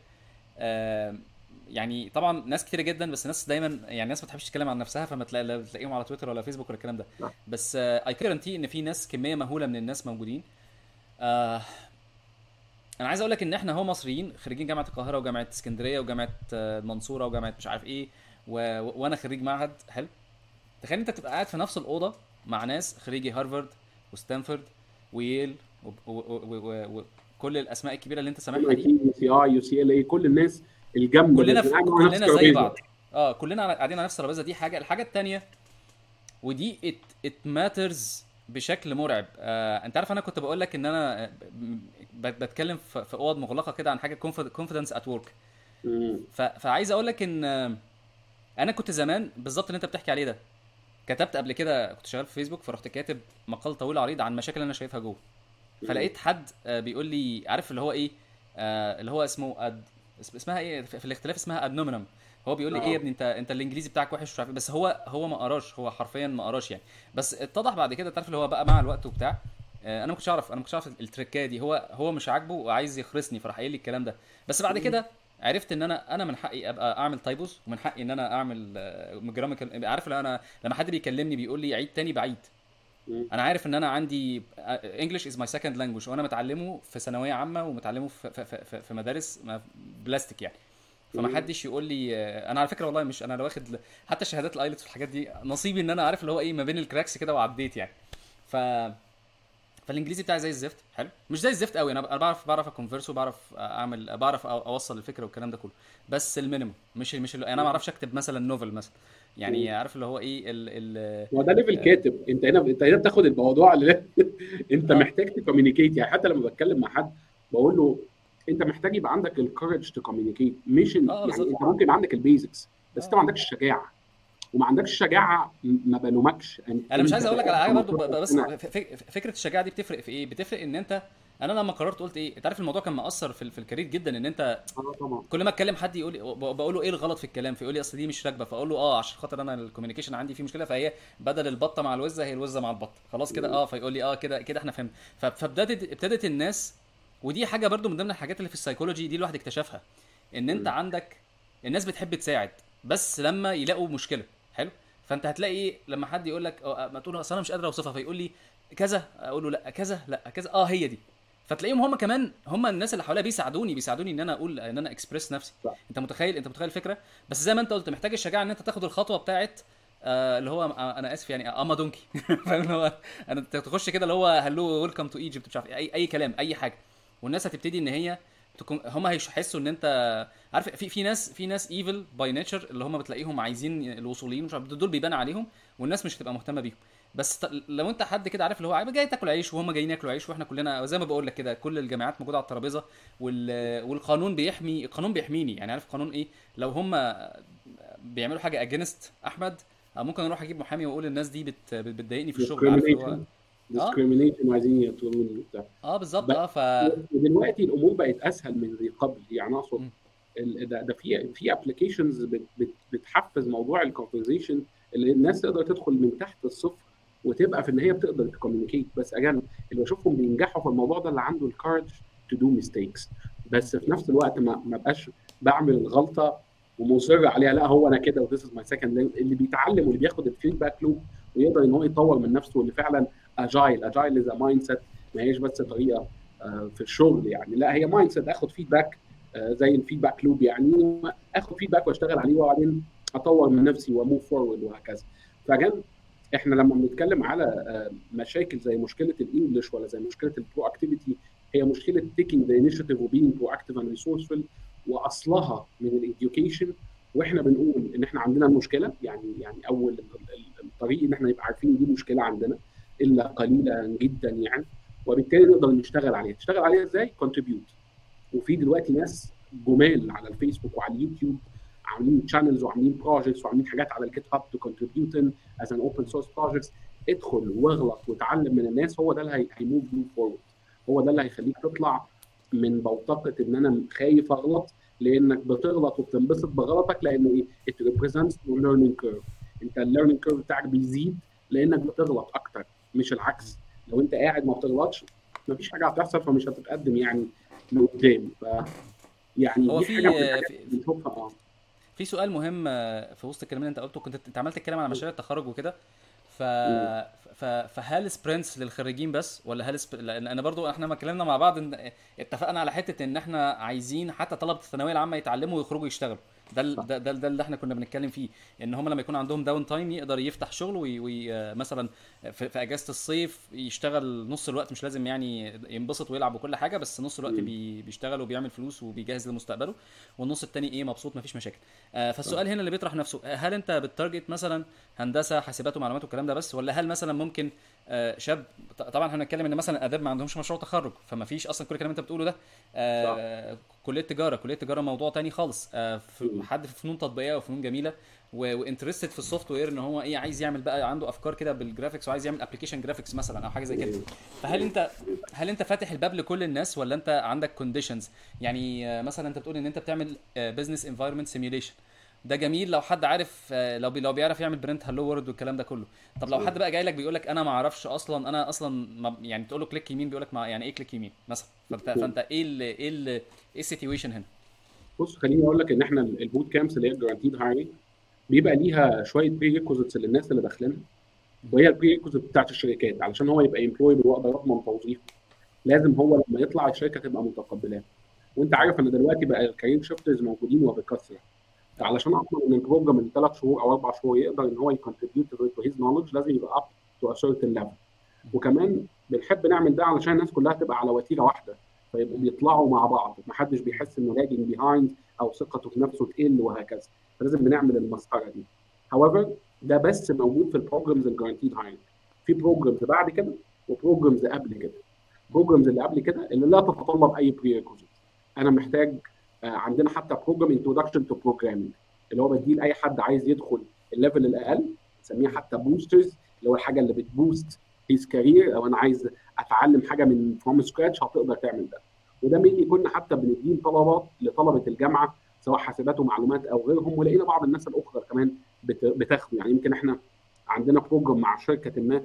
يعني طبعا ناس كتيره جدا، بس ناس دايما يعني ناس ما تحبش تتكلم عن نفسها، فما تلاقيهم على تويتر ولا فيسبوك ولا الكلام ده. بس اي كارنتي ان في ناس، كميه مهوله من الناس موجودين. آه، انا عايز اقول لك ان احنا هو مصريين خريجين جامعه القاهره وجامعه اسكندريه وجامعه المنصوره وجامعه مش عارف ايه، وانا خريج معهد حلو. تخيل انت تبقى قاعد في نفس الاوضه مع ناس خريجي هارفارد وستانفورد وييل وكل الاسماء الكبيره اللي انت سامعها MIT دي. UCI UCLA، كل الناس الجامده اللي قاعده على نفس كلنا زي الترابيزه. بعض. كلنا قاعدين على نفس الترابيزه. دي حاجه. الحاجه التانية، ودي ات ماترز بشكل مرعب. انت عارف انا كنت بقول لك ان انا بتكلم في اوض مغلقه كده عن حاجه كونفيدنس ات ورك. فعايز اقول لك ان انا كنت زمان بالظبط اللي انت بتحكي عليه ده، كتبت قبل كده، كنت شغال في فيسبوك، فرحت كاتب مقال طويل عريض عن مشاكل انا شايفها جوه. مم. فلقيت حد بيقول لي عارف اللي هو ايه، اللي هو اسمه اسمها ايه في الاختلاف، اسمها ادنومينم. هو بيقول لي ايه يا اه. ابني، انت الانجليزي بتاعك وحش مش عارف إيه. بس هو ما قراش، هو حرفيا ما قراش يعني. بس اتضح بعد كده، تعرف اللي هو بقى مع الوقت وبتاع، انا ما كنتش اعرف التريكايه دي. هو مش عاجبه وعايز يخرسني، فراح قايل لي الكلام ده. بس بعد مم. كده عرفت ان انا من حقي ابقى اعمل تايبوز، ومن حقي ان انا اعمل جراميكال. عارف لو انا لما حد بيكلمني بيقول لي عيد تاني بعيد، مم. انا عارف ان انا عندي انجلش از ماي سكند لانجوج، وانا متعلمه في ثانويه عامه ومتعلمه في مدارس بلاستيك يعني. فما مم. حدش يقول لي انا على فكره والله مش انا لو واخد حتى شهادات الايلتس والحاجات دي، نصيبي ان انا عارف اللي هو ايه ما بين الكراكس كده وعديت يعني. ف فالانجليزي بتاعي زي الزفت، حلو مش زي الزفت قوي، انا بعرف اكونفرس، وبعرف اعمل، بعرف اوصل الفكره والكلام ده كله. بس المينيمم مش انا ما اعرفش اكتب مثلا نوفل مثلا، مم. يعني عارف اللي هو ايه هو ده ليفل آه، كاتب، انت هنا بتاخد الموضوع انت اه محتاج تكومينيكيت. يعني حتى لما بتكلم مع حد بقول له انت محتاج يبقى عندك الكورج تكومينيكيت، مش يعني بالظبط. انت ممكن يبقى عندك البيزكس بس انت اه ما عندكش الشجاعه. وما عندكش الشجاعه ما بلومكش، انا مش انت عايز اقول لك على بقالك حاجه برضو، 15 بس سنه. فكره الشجاعه دي بتفرق في ايه؟ بتفرق ان انت، انا لما قررت قلت ايه، انت عارف الموضوع كان مأثر في الكارير جدا، ان انت اه طبعا. كل ما اتكلم حد يقول لي، بقول له ايه الغلط في الكلام، فيقول لي اصل دي مش راكبه، فاقول له عشان خاطر انا الكوميونيكيشن عندي فيه مشكله، فهي بدل البطه مع الوزه هي الوزه مع البطه، خلاص كده. فيقول لي كده كده احنا فهمنا. ابتدت الناس، ودي حاجه برضو من ضمن الحاجات اللي في السايكولوجي دي الواحد اكتشفها، ان انت مم. عندك الناس بتحب تساعد بس لما يلاقوا مشكله، حلو. فانت هتلاقي ايه لما حد يقول لك ما تقول اصل انا مش قادر اوصفها، فيقول لي كذا، اقول له لا كذا، لا كذا، هي دي. فتلاقيهم هم كمان، هم الناس اللي حواليا بيساعدوني ان انا اقول، ان انا اكسبريس نفسي. صح. انت متخيل الفكره؟ بس زي ما انت قلت، محتاج الشجاعه ان انت تاخد الخطوه بتاعت اللي هو انا اسف يعني اما دونكي فاهم اللي هو انا تخش كده اللي هو هلو ويلكم تو ايجيبت، مش عارف إيه، اي كلام اي حاجه. والناس هتبتدي ان هي تكون، هم هيحسوا ان انت عارف، في ناس ايفل باي نيتشر، اللي هم بتلاقيهم عايزين الوصوليين، مش عارف دول بيبان عليهم، والناس مش هتبقى مهتمه بيهم. بس لو انت حد كده عارف اللي هو جاي تاكل عيش وهم جايين ياكلوا عيش، واحنا كلنا زي ما بقول لك كده كل الجامعات موجوده على الترابيزه، والقانون القانون بيحميني، يعني عارف القانون ايه؟ لو هم بيعملوا حاجه اجينست احمد، ممكن اروح اجيب محامي واقول الناس دي بتضايقني في الشغل، عارف اللي هو. discrimination اه discrimination وعايزين يقتلوني وبتاع. بالظبط. بس ودلوقتي الامور بقت اسهل من ذي قبل، يعني اقصد م- ده في ابلكيشنز بتحفز موضوع الكونفرزيشن، اللي الناس تقدر تدخل من تحت الصفر وتبقى في النهايه بتقدر تكوميونيكيت. بس اجان اللي بشوفهم بينجحوا في الموضوع ده اللي عنده الكارج تو دو ميستيكس، م- بس في نفس الوقت ما بقاش بعمل الغلطه ومصر عليها، لا هو انا كده وذيس از ماي سكند. اللي بيتعلم واللي بياخد الفيدباك لوب ويقدر ان هو يطور من نفسه، واللي فعلا اجايل از مايند سيت، ما هيش بس طريقه في الشغل يعني، لا هي مايند سيت. اخد فيدباك زي الفيدباك لوب يعني، اخد فيدباك واشتغل عليه وبعدين اطور من نفسي وموف فورورد وهكذا. فكان احنا لما بنتكلم على مشاكل زي مشكله الانجليش ولا زي مشكله البرو اكتيفيتي، هي مشكله تيكينج ذا انيشيتيف وبينج برو اكتيف اند ريسورسفul، واصلها من الاديوكيشن. واحنا بنقول ان احنا عندنا المشكله، يعني اول الطريق ان احنا نبقى عارفين دي مشكله عندنا الا قليلا جدا يعني، وبالتالي نقدر نشتغل عليها ازاي؟ كونتريبيوت. وفي دلوقتي ناس جمال على الفيسبوك وعلى اليوتيوب عاملين شانلز وعاملين بروجكتس وعاملين حاجات على الجيت هاب تو كونتريبيوت از ان اوبن سورس بروجكتس. ادخل واغلط وتعلم من الناس، هو ده اللي هيموف يو فورورد، هو ده اللي هيخليك تطلع من بوتقه ان انا خايف اغلط، لانك بتغلط وبتنبسط بغلطك، لانه ايه؟ it represents your learning curve. انت الليرنينج كيرف بتاعك بيزيد لانك بتغلط اكتر، مش العكس. لو انت قاعد ما بتغلطش مفيش حاجه هتحصل، فمش هتتقدم يعني لقدام. يعني هو دي حاجه من في الحاجات في اللي بنشوفها. اه. في سؤال مهم في وسط الكلام اللي انت قلته، كنت انت عمال تتكلم على مشاريع التخرج وكده. ف... مم. فهل سبرنتس للخريجين بس، ولا لان انا برضو احنا ما اتكلمنا مع بعض اتفقنا على حته ان احنا عايزين حتى طلبه الثانويه العامه يتعلموا ويخرجوا يشتغلوا. صح. ده اللي احنا كنا بنتكلم فيه، ان هم لما يكون عندهم داون تايم يقدر يفتح شغل مثلا في اجازه الصيف يشتغل نص الوقت، مش لازم يعني ينبسط ويلعب وكل حاجه، بس نص الوقت مم. بيشتغل وبيعمل فلوس وبيجهز لمستقبله، والنص التاني ايه مبسوط مفيش مشاكل. صح. فالسؤال هنا اللي بيطرح نفسه، هل انت بتارجت مثلا هندسه حاسبات ومعلومات والكلام ده بس، ولا هل مثلا ممكن شاب، طبعا احنا هنتكلم ان مثلا اداب ما عندهمش مشروع تخرج، فما فيش اصلا كل الكلام اللي انت بتقوله ده. صح. كليه تجاره موضوع تاني خالص. مم. حد في فنون تطبيقيه وفنون جميله وانترستد في السوفت وير، ان هو ايه، عايز يعمل بقى، عنده افكار كده بالجرافيكس وعايز يعمل ابلكيشن جرافيكس مثلا او حاجه زي كده. مم. فهل انت هل انت فاتح الباب لكل الناس، ولا انت عندك كونديشنز؟ يعني مثلا انت بتقول ان انت بتعمل بزنس انفايرمنت سيميوليشن، ده جميل لو حد عارف، لو بيعرف يعمل برنت هالو وورد والكلام ده كله. طب لو حد بقى جاي لك بيقول لك انا ما اعرفش اصلا، انا اصلا ما يعني تقول له كليك يمين بيقول لك ما يعني ايه كليك يمين مثلا، فانت ايه السيتويشن هنا؟ بص خليني اقول لك ان احنا البوت كامبس اللي هي جرانتيد هايرنج بيبقى ليها شويه بري ريكوزيتس للناس اللي داخلينها، وهي البري ريكوزيت بتاعت الشركات علشان هو يبقى امبلويبل واقدر اضمن توظيفه. لازم هو لما يطلع الشركه تبقى متقبلاه. وانت اه. عارف ان دلوقتي بقى الكارير شيفترز موجودين وبكثره. اه. علشان اضمن ان البروجرام من 3 شهور او 4 شهور يقدر ان هو يكونتريبيوت تو هيز نولج، لازم يبقى اب تو ا سيرتن ليفل. وكمان بنحب نعمل ده علشان الناس كلها تبقى على وتيره واحده، فيبقوا بيطلعوا مع بعض، محدش بيحس انه لاجنج بيهايند او ثقته في نفسه تقل وهكذا. فلازم بنعمل المسطره دي. however ده بس موجود في البروجرامز الجارانتيد هايرنج. في بروجرامز بعد كده وبروجرامز قبل كده. البروجرامز اللي قبل كده اللي لا تتطلب اي بري ريكوزيت. انا محتاج عندنا حتى بروجرام انتروداكشن تو بروجرامينج، اللي هو بديه لاي حد عايز يدخل الليفل الاقل، نسميه حتى بوسترز، اللي هو الحاجه اللي بتبوست هيز كارير، او انا عايز اتعلم حاجه من فروم سكراتش هتقدر تعمل ده. وده مين كنا حتى بنديه طلبات لطلبه الجامعه سواء حاسبات ومعلومات او غيرهم، ولقينا بعض الناس الاخرى كمان بتاخده. يعني يمكن احنا عندنا بروجرام مع شركه ما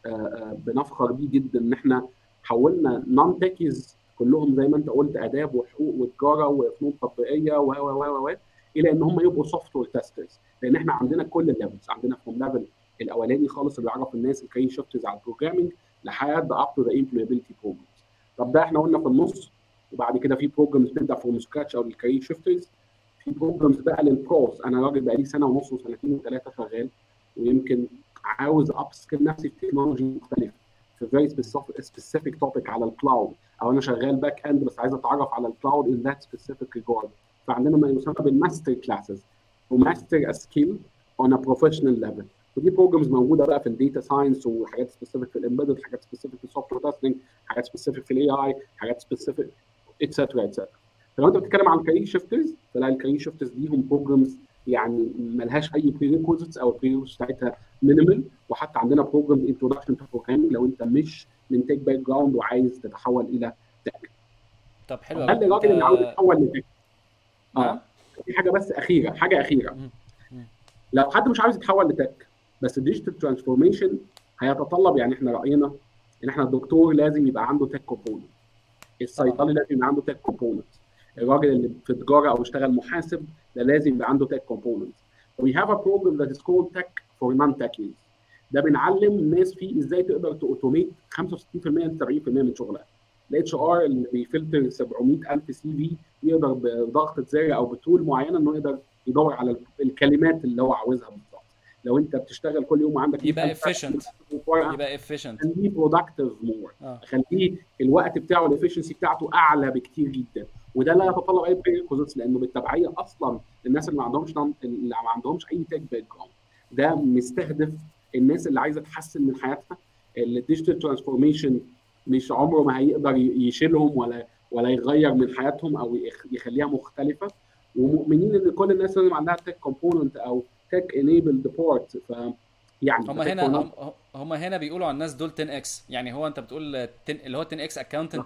بنفخر بيه جدا، ان احنا حولنا نون تكيز كلهم زي ما انت قلت اداب وحقوق وتجاره وفنون تطبيقيه و الى ان هم يبقوا سوفت وير تيسترز. لان احنا عندنا كل الليفلز، عندنا فروم ليفل الاولاني خالص اللي بيعرف الناس الكارير شيفترز على البروجرامينج لحد اب تو ذا امبلويبيلتي بروجرامز. طب ده احنا قلنا في النص. وبعد كده في بروجرامز بتبدا فروم سكراتش او للكارير شيفترز. في بروجرامز بقى للبروز، انا راجل بقى لي سنه ونص وسنتين وثلاثه شغال، ويمكن عاوز اب سكيل نفسي في تكنولوجي مختلفه، في فيري سبيسيفيك توبيك على الكلاود، او انا شغال باك اند بس عايز اتعرف على الكلاود ان ذات سبيسيفيك ريجارد. فعندنا ما يسمى بالماستر كلاسز وماستر سكيل اون ا بروفيشنال ليفل. ودي بروجرامز موجوده بقى في الداتا ساينس، وحاجات سبيسيفيك في الامبيدد، حاجات سبيسيفيك في السوفت وير تيستنج، حاجات سبيسيفيك في الاي اي، حاجات سبيسيفيك اتسترا اتسترا. فلو انت بتتكلم عن الكارير شيفترز، فلا الكارير شيفترز ليهم بروجرامز يعني ملهاش اي بري ريكوزيتس، او البري ريكوزيتس بتاعتها مينيمال. وحتى عندنا بروجرام انتروداكشن تو بروجرامينج لو انت مش من تك باك جراوند وعايز تتحول الى تك. طب حلو طب قوي هل انت. الراجل اللي عاوز يتحول لتك، نعم. في حاجه بس اخيره، حاجه اخيره. مم. مم. لو حد مش عاوز يتحول لتك بس الديجيتال ترانسفورميشن هيتطلب، يعني احنا راينا ان احنا الدكتور لازم يبقى عنده تك كومبوننت، طبعا. الصيدلي لازم يبقى عنده تك كومبوننت، مم. الراجل اللي في تجاره او اشتغل محاسب ده لازم يبقى عنده تك كومبوننت. We have a program that is called Tech for Non-Techies. ده بنعلم الناس فيه ازاي تقدر تاوتوميت 65% ل 70% من شغلها. الاتش ار اللي بيفلتر 700,000 سي في يقدر بضغطه زر او بتول معينه انه يقدر يدور على الكلمات اللي هو عاوزها بالظبط. لو انت بتشتغل كل يوم وعندك يبقى 100,000 efficient. ورقه، يبقى efficient. خليه برودكتيف مور، اه. خليه الوقت بتاعه الافشنسي بتاعته اعلى بكتير جدا. وده لا مم. يتطلب اي بريكوزيتس، لانه بالتبعيه اصلا الناس اللي ما عندهمش اي تك باك جراوند. ده مستهدف الناس اللي عايزه تحسن من حياتها. الديجيتال ترانسفورميشن مش عمره ما هيقدر يشيلهم ولا يغير من حياتهم او يخليها مختلفه. ومؤمنين ان كل الناس لازم عندها تك كومبوننت او تك انيبلد بورت. يعني هم فتك هنا فور. هم هنا بيقولوا على الناس دول 10 اكس، يعني هو انت بتقول 10 اللي هو 10 اكس اكاونتنت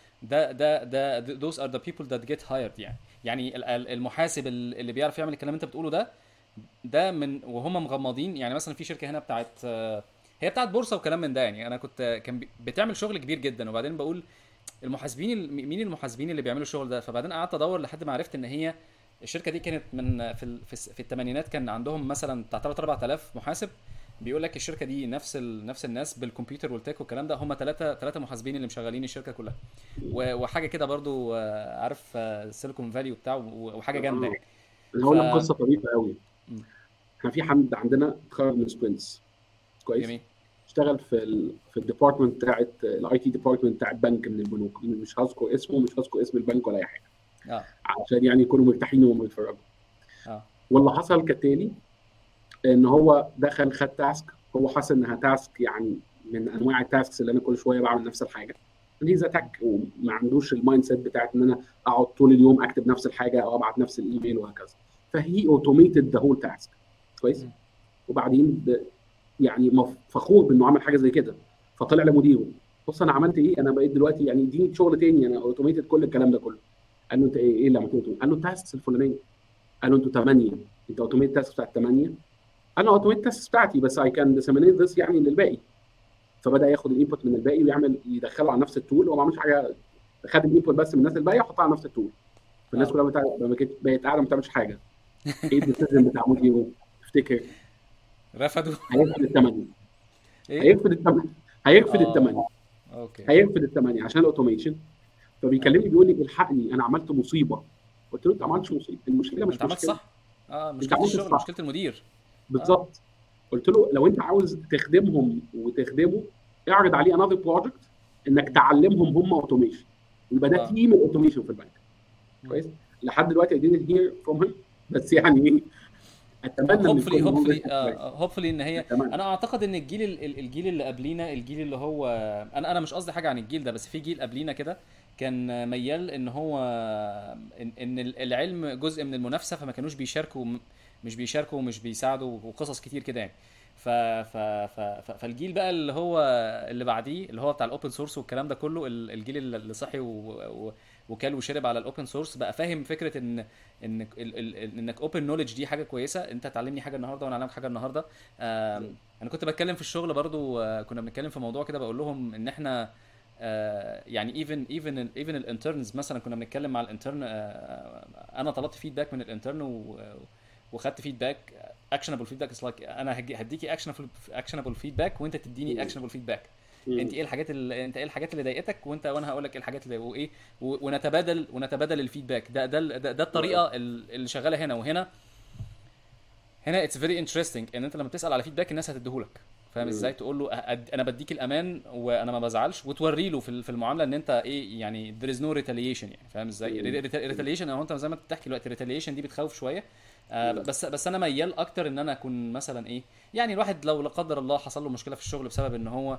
ده those are the people that get hired. يعني المحاسب اللي بيعرف يعمل الكلام اللي انت بتقوله ده من وهم مغمضين. يعني مثلا في شركه هنا بتاعت هي بتاعت بورصه وكلام من ده. يعني انا كان بتعمل شغل كبير جدا، وبعدين بقول مين المحاسبين اللي بيعملوا الشغل ده؟ فبعدين قعدت ادور لحد ما عرفت ان هي الشركه دي كانت من في الثمانينات، كان عندهم مثلا بتاع 3 4000 محاسب. بيقول لك الشركه دي نفس الناس بالكمبيوتر والتك والكلام ده، هم ثلاثه محاسبين اللي مشغلين الشركه كلها. وحاجه كده برضو، عارف سيليكون فالي وبتاع، وحاجه جامده يعني. انا ف هقول لك قصه طريفه قوي. م. احنا في حد عندنا اتخرج من سبرنتس كويس، جميل. اشتغل في الديبارتمنت بتاعت الاي تي ديبارتمنت بتاعت بنك من البنوك، مش هذكر اسمه، مش هذكر اسم البنك ولا اي حاجه اه. عشان يعني يكونوا مرتاحين وهم بيتفرجوا. اه. واللي حصل كالتالي، ان هو دخل خد تاسك، هو حاسس انها تاسك يعني من انواع التاسكس اللي انا كل شويه بعمل نفس الحاجه. هيز اتاك وما عندوش المايند سيت بتاعت ان انا اقعد طول اليوم اكتب نفس الحاجه او ابعت نفس الايميل وهكذا. فهي اوتوميتد ذا هول تاسك. كويس. مم. وبعدين يعني فخور بانه عمل حاجه زي كده. فطلع لمديره، بص انا عملت ايه، انا بقيت دلوقتي يعني اديني شغل تاني، انا اوتوميتد كل الكلام ده كله. قال له انت ايه اللي عملته؟ قال له التاسكس الفلانيه. قال له انتوا 8، انت اوتوميت التاسكس بتاعت 8؟ انا اوتوميت التاسكس بتاعتي بس اي كان ديسيمينيت ذس يعني للباقي. فبدا ياخد الانبوت من الباقي ويعمل يدخله على نفس التول، هو ما عملش حاجه، خد الانبوت بس من الناس الباقيه وحطها على نفس التول. فالناس اه. كلها بقت قاعده ما بتعملش حاجه. ايه الديسيجن بتاع مديره تفتكر؟ رفضوا. هيرفض الثمانيه. ايه. هيرفض الثمانيه. هيرفض الثمانيه. اه. اوكي. هيرفض الثمانيه عشان الاوتوميشن. اه. فبيكلمني بيقول لي الحقني انا عملت مصيبه. قلت له انت ما عملتش مصيبه، المشكله انت مش عملت مشكله، صح. اه، انت مشكله عملت الشغل، الصح. مشكله المدير. اه. بالظبط. قلت له لو انت عاوز تخدمهم وتخدمه، اعرض عليه انذر بروجكت انك تعلمهم هم اوتوميشن، يبقى ده اه. تيم الاوتوميشن في البنك. مم. كويس. لحد دلوقتي I didn't hear from him، بس يعني ايه، اتمنى ان هوبفلي يكون هو هوبفلي لسه كويس. هوبفلي ان هي. اتمنى. انا اعتقد ان الجيل اللي قبلينا، الجيل اللي هو، انا مش قصدي حاجه عن الجيل ده، بس في جيل قبلينا كده كان ميال ان هو ان العلم جزء من المنافسه، فما كانوش بيشاركوا، مش بيشاركوا ومش بيساعدوا وقصص كتير كده يعني. فالجيل بقى اللي هو اللي بعديه، اللي هو بتاع الاوبن سورس والكلام ده كله، الجيل اللي صحي وكل وشرب على الاوبن سورس، بقى فاهم فكره انك اوبن نوليدج دي حاجه كويسه، انت تعلمني حاجه النهارده وانا اعلمك حاجه النهارده. انا كنت بتكلم في الشغل برضو، كنا بنتكلم في موضوع كده، بقول لهم ان احنا يعني ايفن الانترنز مثلا، كنا بنتكلم مع الانترن، انا طلبت فيدباك من الانترن وخدت فيدباك، اكشنبل فيدباك. انا هديكي اكشنبل فيدباك وانت تديني مم. اكشنبل فيدباك. مم. انت ايه الحاجات اللي ضايقتك، وانا هقول لك ايه الحاجات اللي وايه، ونتبادل الفيدباك. ده الطريقه اللي شغاله هنا وهنا. هنا اتس فيري انترستنج ان انت لما تسال على فيدباك الناس هتديهولك. فاهم مم. ازاي؟ تقول له انا بديك الامان وانا ما بزعلش، وتوري له في المعامله ان انت ايه يعني there is no retaliation يعني. فاهم ازاي؟ retaliation، او انت زي ما انت بتحكي دلوقتي retaliation دي بتخوف شويه. مم. بس انا ميال اكتر ان انا اكون مثلا ايه، يعني الواحد لو لا قدر الله حصل له مشكله في الشغل بسبب ان هو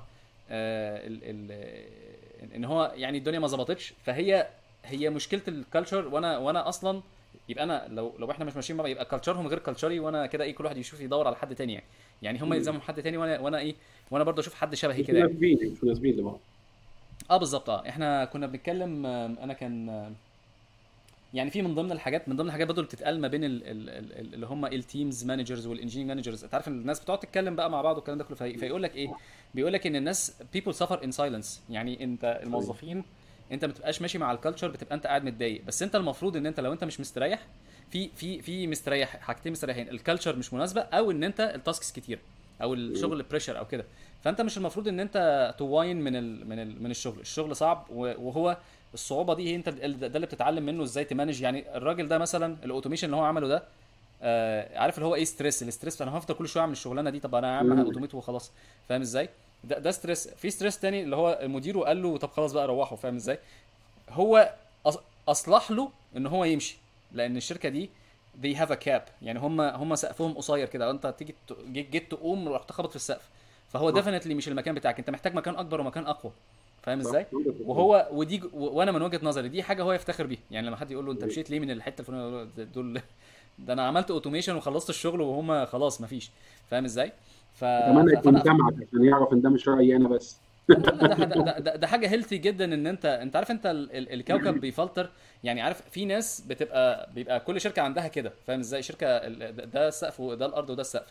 ان هو يعني الدنيا ما ظبطتش، هي مشكله الكالتشر. وانا اصلا يبقى انا لو احنا مش ماشيين مع بعض، يبقى كالتشرهم غير كالتشري، وانا كده ايه، كل واحد يشوف يدور على حد تاني يعني. يعني هم مم. يلزمهم حد تاني، وانا ايه، وانا برضه اشوف حد شبهي مش كده يعني. مناسبين، مش مناسبين لبعض. اه بالظبط. اه احنا كنا بنتكلم، انا كان يعني في من ضمن الحاجات برضه اللي بتتقال ما بين اللي هم التيمز مانجرز والانجينير مانجرز. انت عارف ان الناس بتقعد تتكلم بقى مع بعض والكلام ده كله، فيقول لك ايه، بيقول لك ان الناس people suffer in silence. يعني انت صحيح. الموظفين، انت ما بتبقاش ماشي مع الكالتشر، بتبقى انت قاعد متضايق، بس انت المفروض ان انت لو انت مش مستريح في مستريح حاجتين مستريحين، الكالتشر مش مناسبه، او ان انت التاسكس كتير، او مم. الشغل بريشر او كده. فانت مش المفروض ان انت تواين من الشغل صعب، وهو الصعوبه دي هي انت ده اللي بتتعلم منه ازاي تمانج. يعني الراجل ده مثلا الاوتوميشن اللي هو عمله ده، عارف اللي هو ايه، الاستريس، انا هفضل كل شويه اعمل الشغلانه دي، طب انا يا عم مم. اوتوميت وخلاص. فاهم ازاي؟ ده ستريس. في ستريس تاني اللي هو مديره قال له طب خلاص بقى روحوا. فاهم ازاي؟ هو اصلح له ان هو يمشي، لان الشركه دي they have a cap. يعني هم سقفهم قصير كده، انت تيجي جيت تقوم رحت خبط في السقف. فهو صح. ديفينتلي مش المكان بتاعك، انت محتاج مكان اكبر ومكان اقوى. فاهم صح. ازاي؟ وانا من وجهة نظري دي حاجه هو يفتخر بيها. يعني لما حد يقول له انت مشيت ليه من الحته الفلانيه، دول ده انا عملت اوتوميشن وخلصت الشغل وهم خلاص مفيش. فاهم ازاي؟ اتمنى يكون فانا سامعك عشان يعرف ان ده مش رايي انا بس. لا، ده حاجه هيلثي جدا ان انت عارف انت الكوكب بيفلتر. يعني عارف في ناس بيبقى كل شركه عندها كده. فاهم ازاي؟ شركه ده السقف وده الارض وده السقف.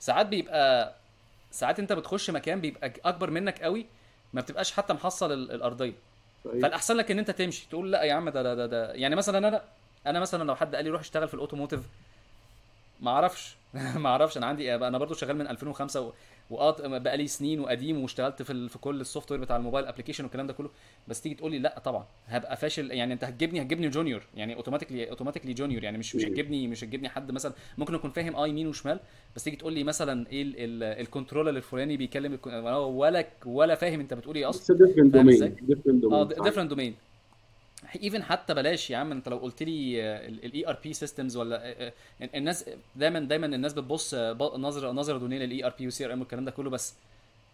ساعات انت بتخش مكان بيبقى اكبر منك قوي، ما بتبقاش حتى محصل الارضيه. صحيح. فالاحسن لك ان انت تمشي، تقول لا يا عم ده يعني مثلا انا مثلا لو حد قال لي روح اشتغل في الاوتوموتيف، ما اعرفش. ما اعرفش. انا برضو شغال من 2005 بقى لي سنين وقديم، واشتغلت في كل السوفت وير بتاع الموبايل ابلكيشن والكلام ده كله. بس تيجي تقول لي لا طبعا هبقى فاشل. يعني انت هتجيبني جونيور، يعني اوتوماتيكلي جونيور. يعني مش هتجيبني حد مثلا ممكن اكون فاهم يمين وشمال، بس تيجي تقول لي مثلا ايه الكنترولر الفلاني بيكلم ولا فاهم انت بتقول ايه اصلا. It's a different فاهم ازاي؟ domain. Different اه domain. صحيح. ديفرنت دومين. ايفن حتى بلاش يا عم، انت لو قلت لي الاي ار بي سيستمز ولا الناس دايما الناس بتبص نظره دونيه للاي ار بي والسي ار ام والكلام ده كله. بس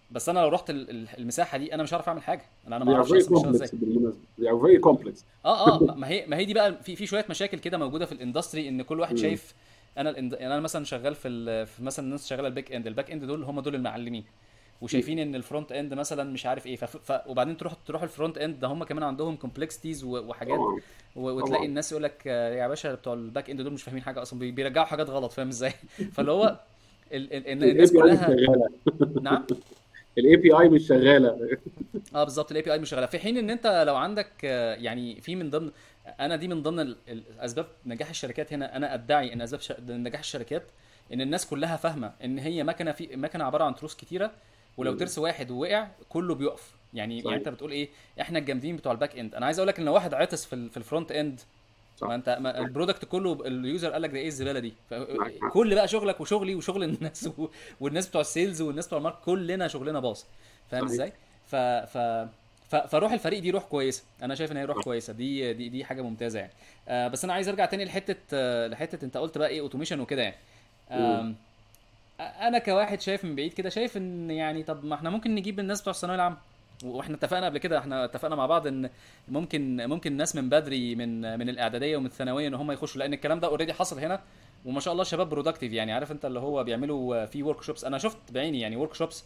بس انا لو رحت المساحه دي انا مش هعرف اعمل حاجه، انا ما they are اعرفش very اصلا بيشتغل ازاي. complex بالمناسبة they are very complex. ما هي دي بقى في شويه مشاكل كده موجوده في الاندستري، ان كل واحد مم. شايف. يعني انا مثلا شغال في مثلا الناس شغاله الباك اند دول هم دول المعلمين، مم. وشايفين ان الفرونت اند مثلا مش عارف ايه، وبعدين تروح الفرونت اند ده هم كمان عندهم كومبلكسيتيز وحاجات، طبعا وتلاقي طبعا. الناس يقول لك يا باشا بتوع الباك اند دول مش فاهمين حاجه اصلا، بيرجعوا حاجات غلط، فاهم ازاي؟ فاللي هو الاي الناس بي اي مش كلها. شغالة. نعم. الاي بي اي مش شغالة. اه بالظبط، الاي بي اي مش شغاله، في حين ان انت لو عندك يعني في من ضمن، انا دي من ضمن الاسباب نجاح الشركات هنا، انا ادعي ان اسباب نجاح الشركات ان الناس كلها فاهمه ان هي مكنه، في مكنه عباره عن تروس كتيره، ولو مم. ترس واحد ووقع كله بيقف. يعني صحيح انت بتقول ايه، احنا الجامدين بتوع الباك اند. انا عايز اقول لك ان لو واحد عطس في الفرونت اند، ما صح. انت ما البرودكت كله اليوزر قال لك ده ايه الزباله دي، معاك حق. كل بقى شغلك وشغلي وشغل الناس والناس بتوع السيلز والناس بتوع الماركت كلنا شغلنا باظ، فاهم صحيح ازاي؟ ف ف فروح الفريق دي روح كويسه، انا شايف ان هي روح صح. كويسه، دي حاجه ممتازه يعني. بس انا عايز ارجع تاني لحته انت قلت بقى ايه اوتوميشن وكده يعني. مم. آم، انا كواحد شايف من بعيد كده، شايف ان يعني طب ما احنا ممكن نجيب الناس بتوع الثانويه العامه، واحنا اتفقنا قبل كده، احنا اتفقنا مع بعض ان ممكن ناس من بدري من الاعداديه ومن الثانويه ان هم يخشوا، لان الكلام ده اوريدي حصل هنا، وما شاء الله شباب برودكتيف يعني، عارف انت اللي هو بيعملوا في ورك شوبس، انا شفت بعيني يعني ورك شوبس.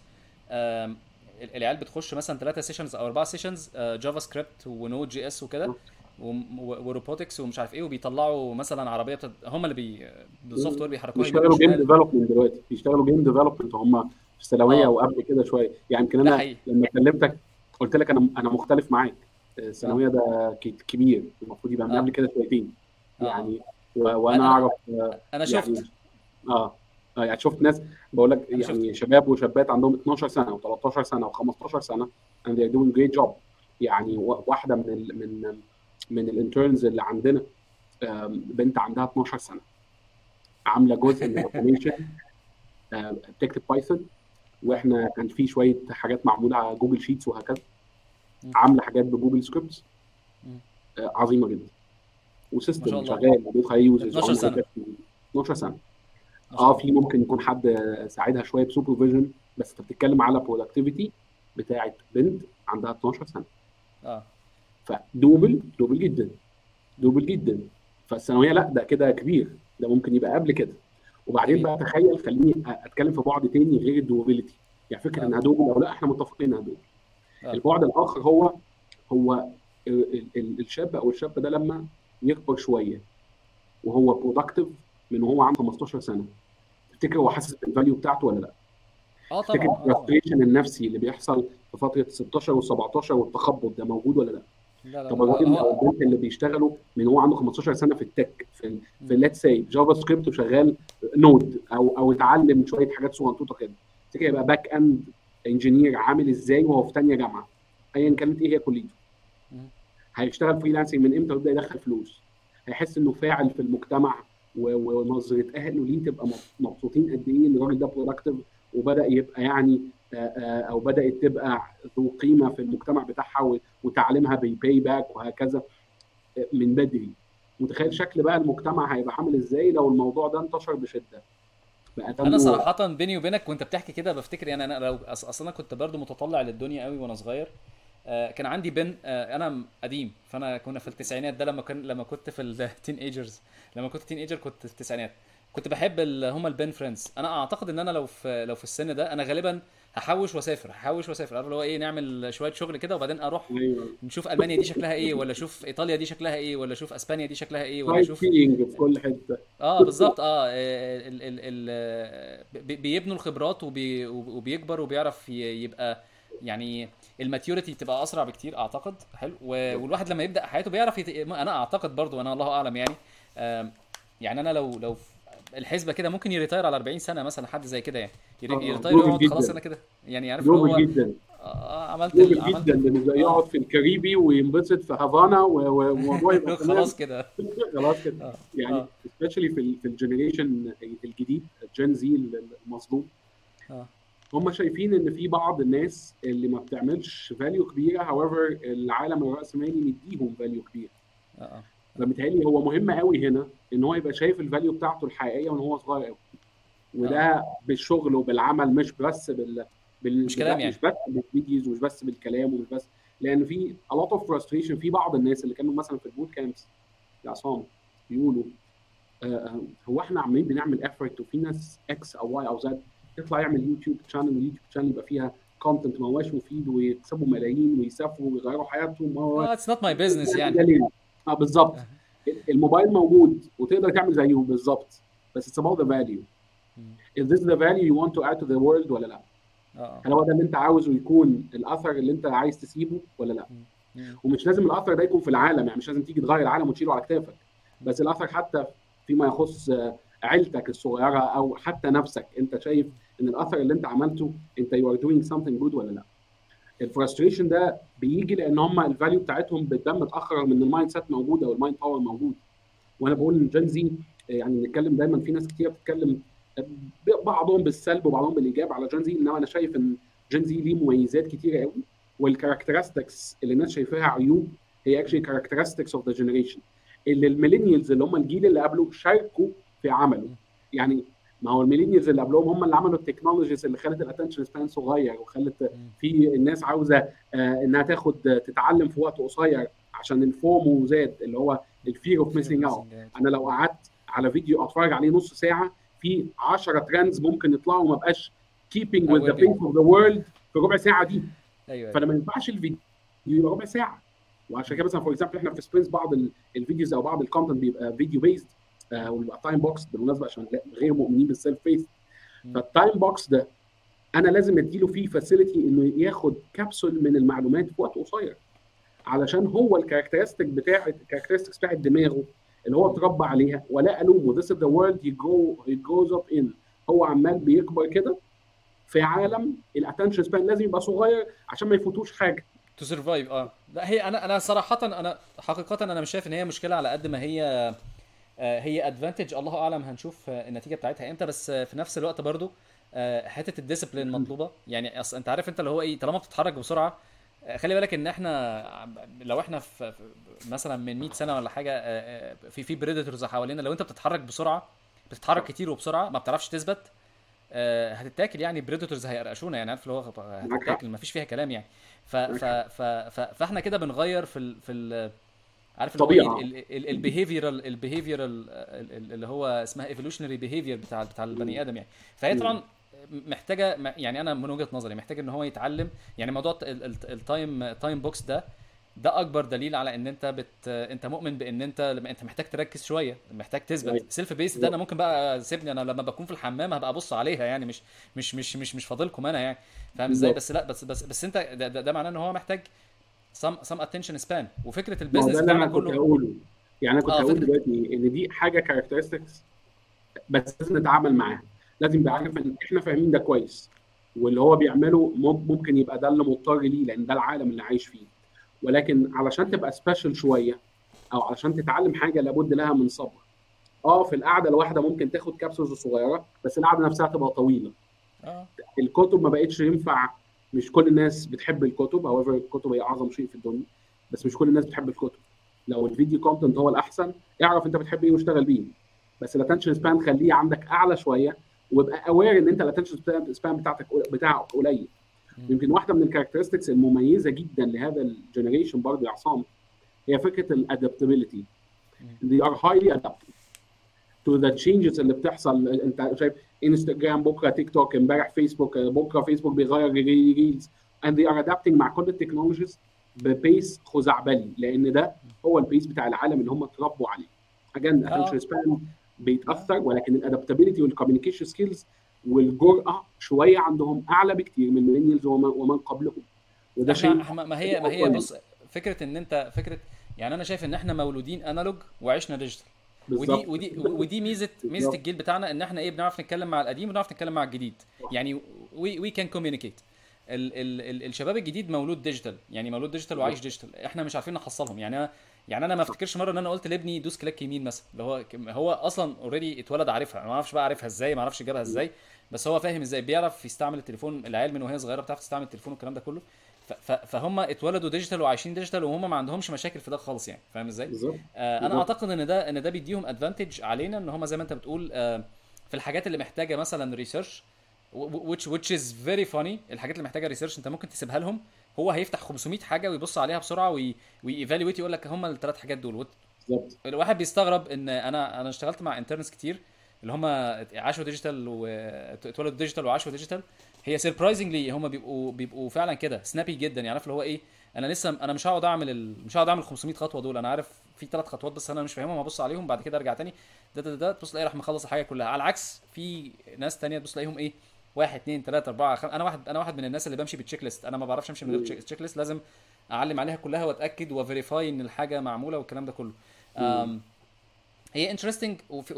العيال بتخش مثلا 3 سيشنز او 4 سيشنز جافا سكريبت ونود جي اس وكده، وروبوتكس ومش عارف ايه، وبيطلعوا مثلا عربيه هم اللي بالسوفت وير بيحركوها يمين بيشتغلوا جيم وشمال. ديفلوبمنت دلوقتي، بيشتغلوا جيم ديفلوبمنت هم في الثانويه اه وقبل كده شويه يعني. يمكن ده انا حقيقي. لما كلمتك قلت لك انا مختلف معاك. اه الثانويه ده كبير، المفروض يبقى من اه قبل كده شويتين اه يعني. وانا انا اعرف انا شفت. يعني اه يعني شفت ناس بقول لك انا شفت. يعني شباب وشابات عندهم 12 سنه و13 سنه و15 سنه and they're doing great job. يعني واحده من الانترنز اللي عندنا بنت عندها 12 سنه عامله جزء من الاوتوميشن، بتكتب بايثون، اه واحنا كان في شويه حاجات معموله على جوجل شيتس وهكذا، عامله حاجات بجوجل سكريبتس عظيمه جدا، ما شاء وسيستم الله. شغال بيدخل يوزرز 12 وعامله سنه. حاجات. 12 سنه. ما شاء الله. في ممكن يكون حد ساعدها شويه بسوبرفيجن، بس انت بتتكلم على برودكتيفيتي بتاعت بنت عندها 12 سنه، اه فدوبل جدا، دوبل جدا. فالثانويه لا ده كده كبير، ده ممكن يبقى قبل كده. وبعدين جميل. بقى تخيل، خليني اتكلم في بعد تاني غير الدوبيليتي، يعني فكره اه انها دوبل او لا احنا متفقين انها دوبل. اه البعد الاخر هو الشاب او الشاب ده لما يكبر شويه وهو برودكتيف من وهو عنده 15 سنه، تفتكر هو حاسس بالفاليو بتاعته ولا لا؟ تفتكر طبعا. اه طبعا. الفرستريشن النفسي اللي بيحصل في فتره 16 و17 والتخبط ده موجود ولا لا؟ لا لا طب لا الراجل او هو. البنت اللي بيشتغلوا من هو عنده 15 سنه في التك، في مم. ليتس سي جافا سكريبت وشغال نود او اتعلم شويه حاجات صغنطوطه كده، تفتكر يبقى باك اند انجينير عامل ازاي وهو في ثانيه جامعه ايا مم. كانت ايه هي كليته؟ مم. هيشتغل فريلانسنج من امتى ويبدا يدخل فلوس؟ هيحس انه فاعل في المجتمع، ونظره اهله ليه تبقى مبسوطين قد ايه ان الراجل ده برودكتيف وبدا يبقى يعني او بدات تبقى ذو قيمه في المجتمع بتاعها، وتعليمها بيباي باك وهكذا من بدري. متخيل مم. شكل بقى المجتمع هيبقى عامل ازاي لو الموضوع ده انتشر بشده؟ بقى انا دمه. صراحه بيني وبينك وانت بتحكي كده بفتكر يعني، انا لو اصلا انا كنت برضو متطلع للدنيا قوي وانا صغير. كان عندي بن انا قديم، فانا كنا في التسعينات ده، لما كنت في التين ايجرز، لما كنت تين ايجر كنت في التسعينات، كنت بحب هم البن فريندز. انا اعتقد ان انا لو في السن ده انا غالبا هحوش واسافر، عارف اللي هو ايه، نعمل شويه شغل كده وبعدين اروح ايوه، نشوف المانيا دي شكلها ايه، ولا اشوف ايطاليا دي شكلها ايه، ولا اشوف اسبانيا دي شكلها ايه، ولا سايت اشوف. سينج في كل حته. اه بالظبط. بيبنوا الخبرات وبيكبر وبيعرف يبقى يعني الماتيوريتي بتبقى اسرع بكتير اعتقد. حلو. والواحد لما يبدا حياته بيعرف انا اعتقد برضو، انا الله اعلم يعني. يعني انا لو الحسبه كده ممكن يريتاير على 40 سنه مثلا، حد زي كده يعني، يريتاير دوبل يقعد خلاص جدا، انا كده يعني، عارف اللي دوبل هو جدا، عملت دوبل جدا بالنسبه اه يقعد في الكاريبي وينبسط في هافانا والموضوع يبقى تمام. خلاص كده. خلاص كده. اه يعني اه سبيشالي في الجنريشن الجديد الجين زي المظلوم، اه هم شايفين ان في بعض الناس اللي ما بتعملش فاليو كبيره، however العالم الراسمالي مديهم فاليو كبير. اه فبالتالي هو مهم قوي هنا ان هو يبقى شايف الفاليو بتاعته الحقيقيه من هو صغير قوي، اه وده بالشغل وبالعمل مش بس مش كلام مش يعني. بس بالفيديوز ومش بس بالكلام ومش بس، لان في a lot of frustration في بعض الناس اللي كانوا مثلا في البوت كامبس يا عصام يقولوا هو احنا عمالين بنعمل افورت وفي ناس اكس او واي او زد يطلع يعمل يوتيوب شانل، واليوتيوب شانل يبقى فيها كونتنت ما هوش مفيد ويكسبوا ملايين ويسافروا ويغيروا حياتهم It's not my business يعني. ده ليه؟ اه بالظبط. الموبايل موجود وتقدر تعمل زيه بالظبط، بس it's about the value. Is this the value you want to add to the world ولا لا؟ اه هل هو ده اللي انت عاوزه يكون الاثر اللي انت عايز تسيبه ولا لا؟ ومش لازم الاثر ده يكون في العالم، يعني مش لازم تيجي تغير العالم وتشيله على كتافك، بس الاثر حتى فيما يخص عيلتك الصغيره او حتى نفسك، انت شايف ان الاثر اللي انت عملته انت you are doing something good ولا لا؟ الفرستريشن ده بيجي لان هم الفاليو بتاعتهم بتبان متاخر من المايند سيت موجوده والمايند باور موجود. وانا بقول ان جين زي يعني بنتكلم دايما، في ناس كتير بتتكلم بعضهم بالسلب وبعضهم بالايجاب على جين زي، انما انا شايف ان جين زي ليه مميزات كتيره قوي، والكاركترستكس اللي الناس شايفاها عيوب هي اكشلي كاركترستكس اوف ذا جنريشن اللي الميلينيالز اللي هم الجيل اللي قبله شاركوا في عمله. يعني ما هو الميلينيالز اللي قبلهم هم اللي عملوا التكنولوجيز اللي خلت الاتنشن سبان صغير، وخلت في الناس عاوزه انها تتعلم في وقت قصير عشان الفومو زاد اللي هو الفير اوف ميسنج اوت. انا لو قعدت على فيديو اتفرج عليه نص ساعه في 10 ترندز ممكن يطلعوا وما بقاش keeping with the pace of the world في ربع ساعه دي. ايوه فانا ما ينفعش الفيديو يبقى ربع ساعه. وعشان كده مثلا فور اكزامبل احنا في سبرينتس بعض الفيديوز او بعض الكونتنت بيبقى فيديو بيزد ويبقى تايم بوكس بالمناسبه عشان غير مؤمنين بالسيلف بيس. فالتايم بوكس ده انا لازم اديله فيه فاسيلتي انه ياخد كبسول من المعلومات في وقت قصير، علشان هو الكاركترستكس بتاعت دماغه اللي هو اتربى عليها. ولا الومه this is the world he grows up in. هو عمال بيكبر كده في عالم الاتنشن سبان لازم يبقى صغير عشان ما يفوتوش حاجه تو سرفايف. لا هي انا صراحه انا حقيقه انا مش شايف ان هي مشكله على قد ما هي هي ادفانتج. الله اعلم هنشوف النتيجه بتاعتها امتى، بس في نفس الوقت برضو حته الديسيبلين مطلوبه. يعني اصل انت عارف انت اللي هو ايه، طالما بتتحرك بسرعه خلي بالك ان احنا لو احنا في مثلا من 100 سنه ولا حاجه في بريدتورز حوالينا، لو انت بتتحرك بسرعه بتتحرك كتير وبسرعه ما بتعرفش تثبت هتتاكل. يعني بريدتورز هيقرقشونا، يعني عارف اللي هو هتتاكل ما فيش فيها كلام يعني. فاحنا كده بنغير في عارف اللي هو ايه البيهيفيرال اللي هو اسمها ايفولوشنري بيهيفير بتاع البني ادم يعني. فهي طبعا محتاجه، يعني انا من وجهه نظري محتاج ان هو يتعلم. يعني موضوع التايم بوكس ده اكبر دليل على ان انت مؤمن بان انت محتاج تركز شويه، محتاج تثبت سيلف بيس. ده انا ممكن بقى سيبني انا لما بكون في الحمام هبقى ابص عليها يعني، مش فاضلكم انا يعني، فاهم ازاي؟ بس لا بس انت ده معناه ان هو محتاج some attention span. وفكره البيزنس بتاعنا كله كنت هقوله. يعني انا كنت هقول دلوقتي ان دي حاجه كاركترستكس بس لازم نتعامل معاها. لازم نبقى عارف ان احنا فاهمين ده كويس، واللي هو بيعمله ممكن يبقى ده اللي مضطر ليه لان ده العالم اللي عايش فيه. ولكن علشان تبقى سبيشال شويه او علشان تتعلم حاجه لابد لها من صبر. في القعده الواحده ممكن تاخد كبسولز صغيره بس القعده نفسها تبقى طويله. الكتب ما بقتش ينفع، مش كل الناس بتحب الكتب. however الكتب هي اعظم شيء في الدنيا، بس مش كل الناس بتحب الكتب. لو الفيديو كونتنت هو الاحسن اعرف انت بتحب ايه واشتغل بيه، بس الاتنشن سبان خليه عندك اعلى شويه، وابقى اوير ان انت الاتنشن سبان بتاعك قليل. يمكن واحده من الكاركترستكس المميزه جدا لهذا الجنريشن برضه يا عصام هي فكره الادابتابيلتي. they are highly adaptable to the changes اللي بتحصل. انت شايف انستجرام بكره تيك توك، امبارح فيسبوك، بكره فيسبوك بيغير ريلز and they are adapting مع كل التكنولوجيز ببيس خزعبلي، لان ده هو البيس بتاع العالم اللي هم اتربوا عليه. again attention span بيتاثر، ولكن الادابتابيلتي والكوميونيكيشن سكيلز والجرأه شويه عندهم اعلى بكتير من الميلينيالز ومن قبلهم. وده شيء ما هي بص فكره ان انت فكره، يعني انا شايف ان احنا مولودين انالوج وعشنا ديجيتال. ودي ميزه الجيل بتاعنا، ان احنا بنعرف نتكلم مع القديم ونعرف نتكلم مع الجديد. يعني وي كان كوميونيكيت. الشباب الجديد مولود ديجيتال، يعني مولود ديجيتال وعايش ديجيتال. احنا مش عارفين نحصلهم. يعني انا ما افتكرش مره ان انا قلت لابني دوس كليك يمين مثلا، اللي هو اصلا اوريدي اتولد عارفها. انا ما اعرفش بقى عارفها ازاي، ما اعرفش جابها ازاي، بس هو فاهم ازاي، بيعرف يستعمل التليفون. العيال من وهي صغيره بتعرف تستعمل التليفون والكلام ده كله. فهم اتولدوا ديجيتال وعايشين ديجيتال، وهم ما عندهمش مشاكل في ده خالص يعني، فاهم ازاي؟ انا اعتقد ان ده بيديهم ادفانتج علينا، ان هم زي ما انت بتقول في الحاجات اللي محتاجه مثلا ريسيرش which is very funny. الحاجات اللي محتاجه ريسيرش انت ممكن تسيبها لهم، هو هيفتح 500 حاجه ويبص عليها بسرعه وييفالويت، يقول لك هم الثلاث حاجات دول. بالظبط. الواحد بيستغرب ان انا اشتغلت مع انترنز كتير اللي هم عاشوا ديجيتال واتولدوا ديجيتال وعاشوا ديجيتال. هي سربرايزنجلي هم بيبقوا فعلا كده سنابي جدا، يعني عارف اللي هو ايه. انا لسه انا مش هقعد اعمل 500 خطوه دول، انا عارف في 3 خطوات بس انا مش فاهمهم، هبص عليهم بعد كده ارجع تاني ده تبص تلاقي راح مخلص الحاجه كلها. على العكس في ناس تانية تبص تلاقيهم ايه، 1 2 3 4 5. انا واحد من الناس اللي بمشي بالتشيك ليست، انا ما بعرفش امشي من غير تشيك ليست، لازم اعلم عليها كلها واتاكد وفيريفاي ان الحاجه معموله والكلام ده كله. مم. هي انترستنج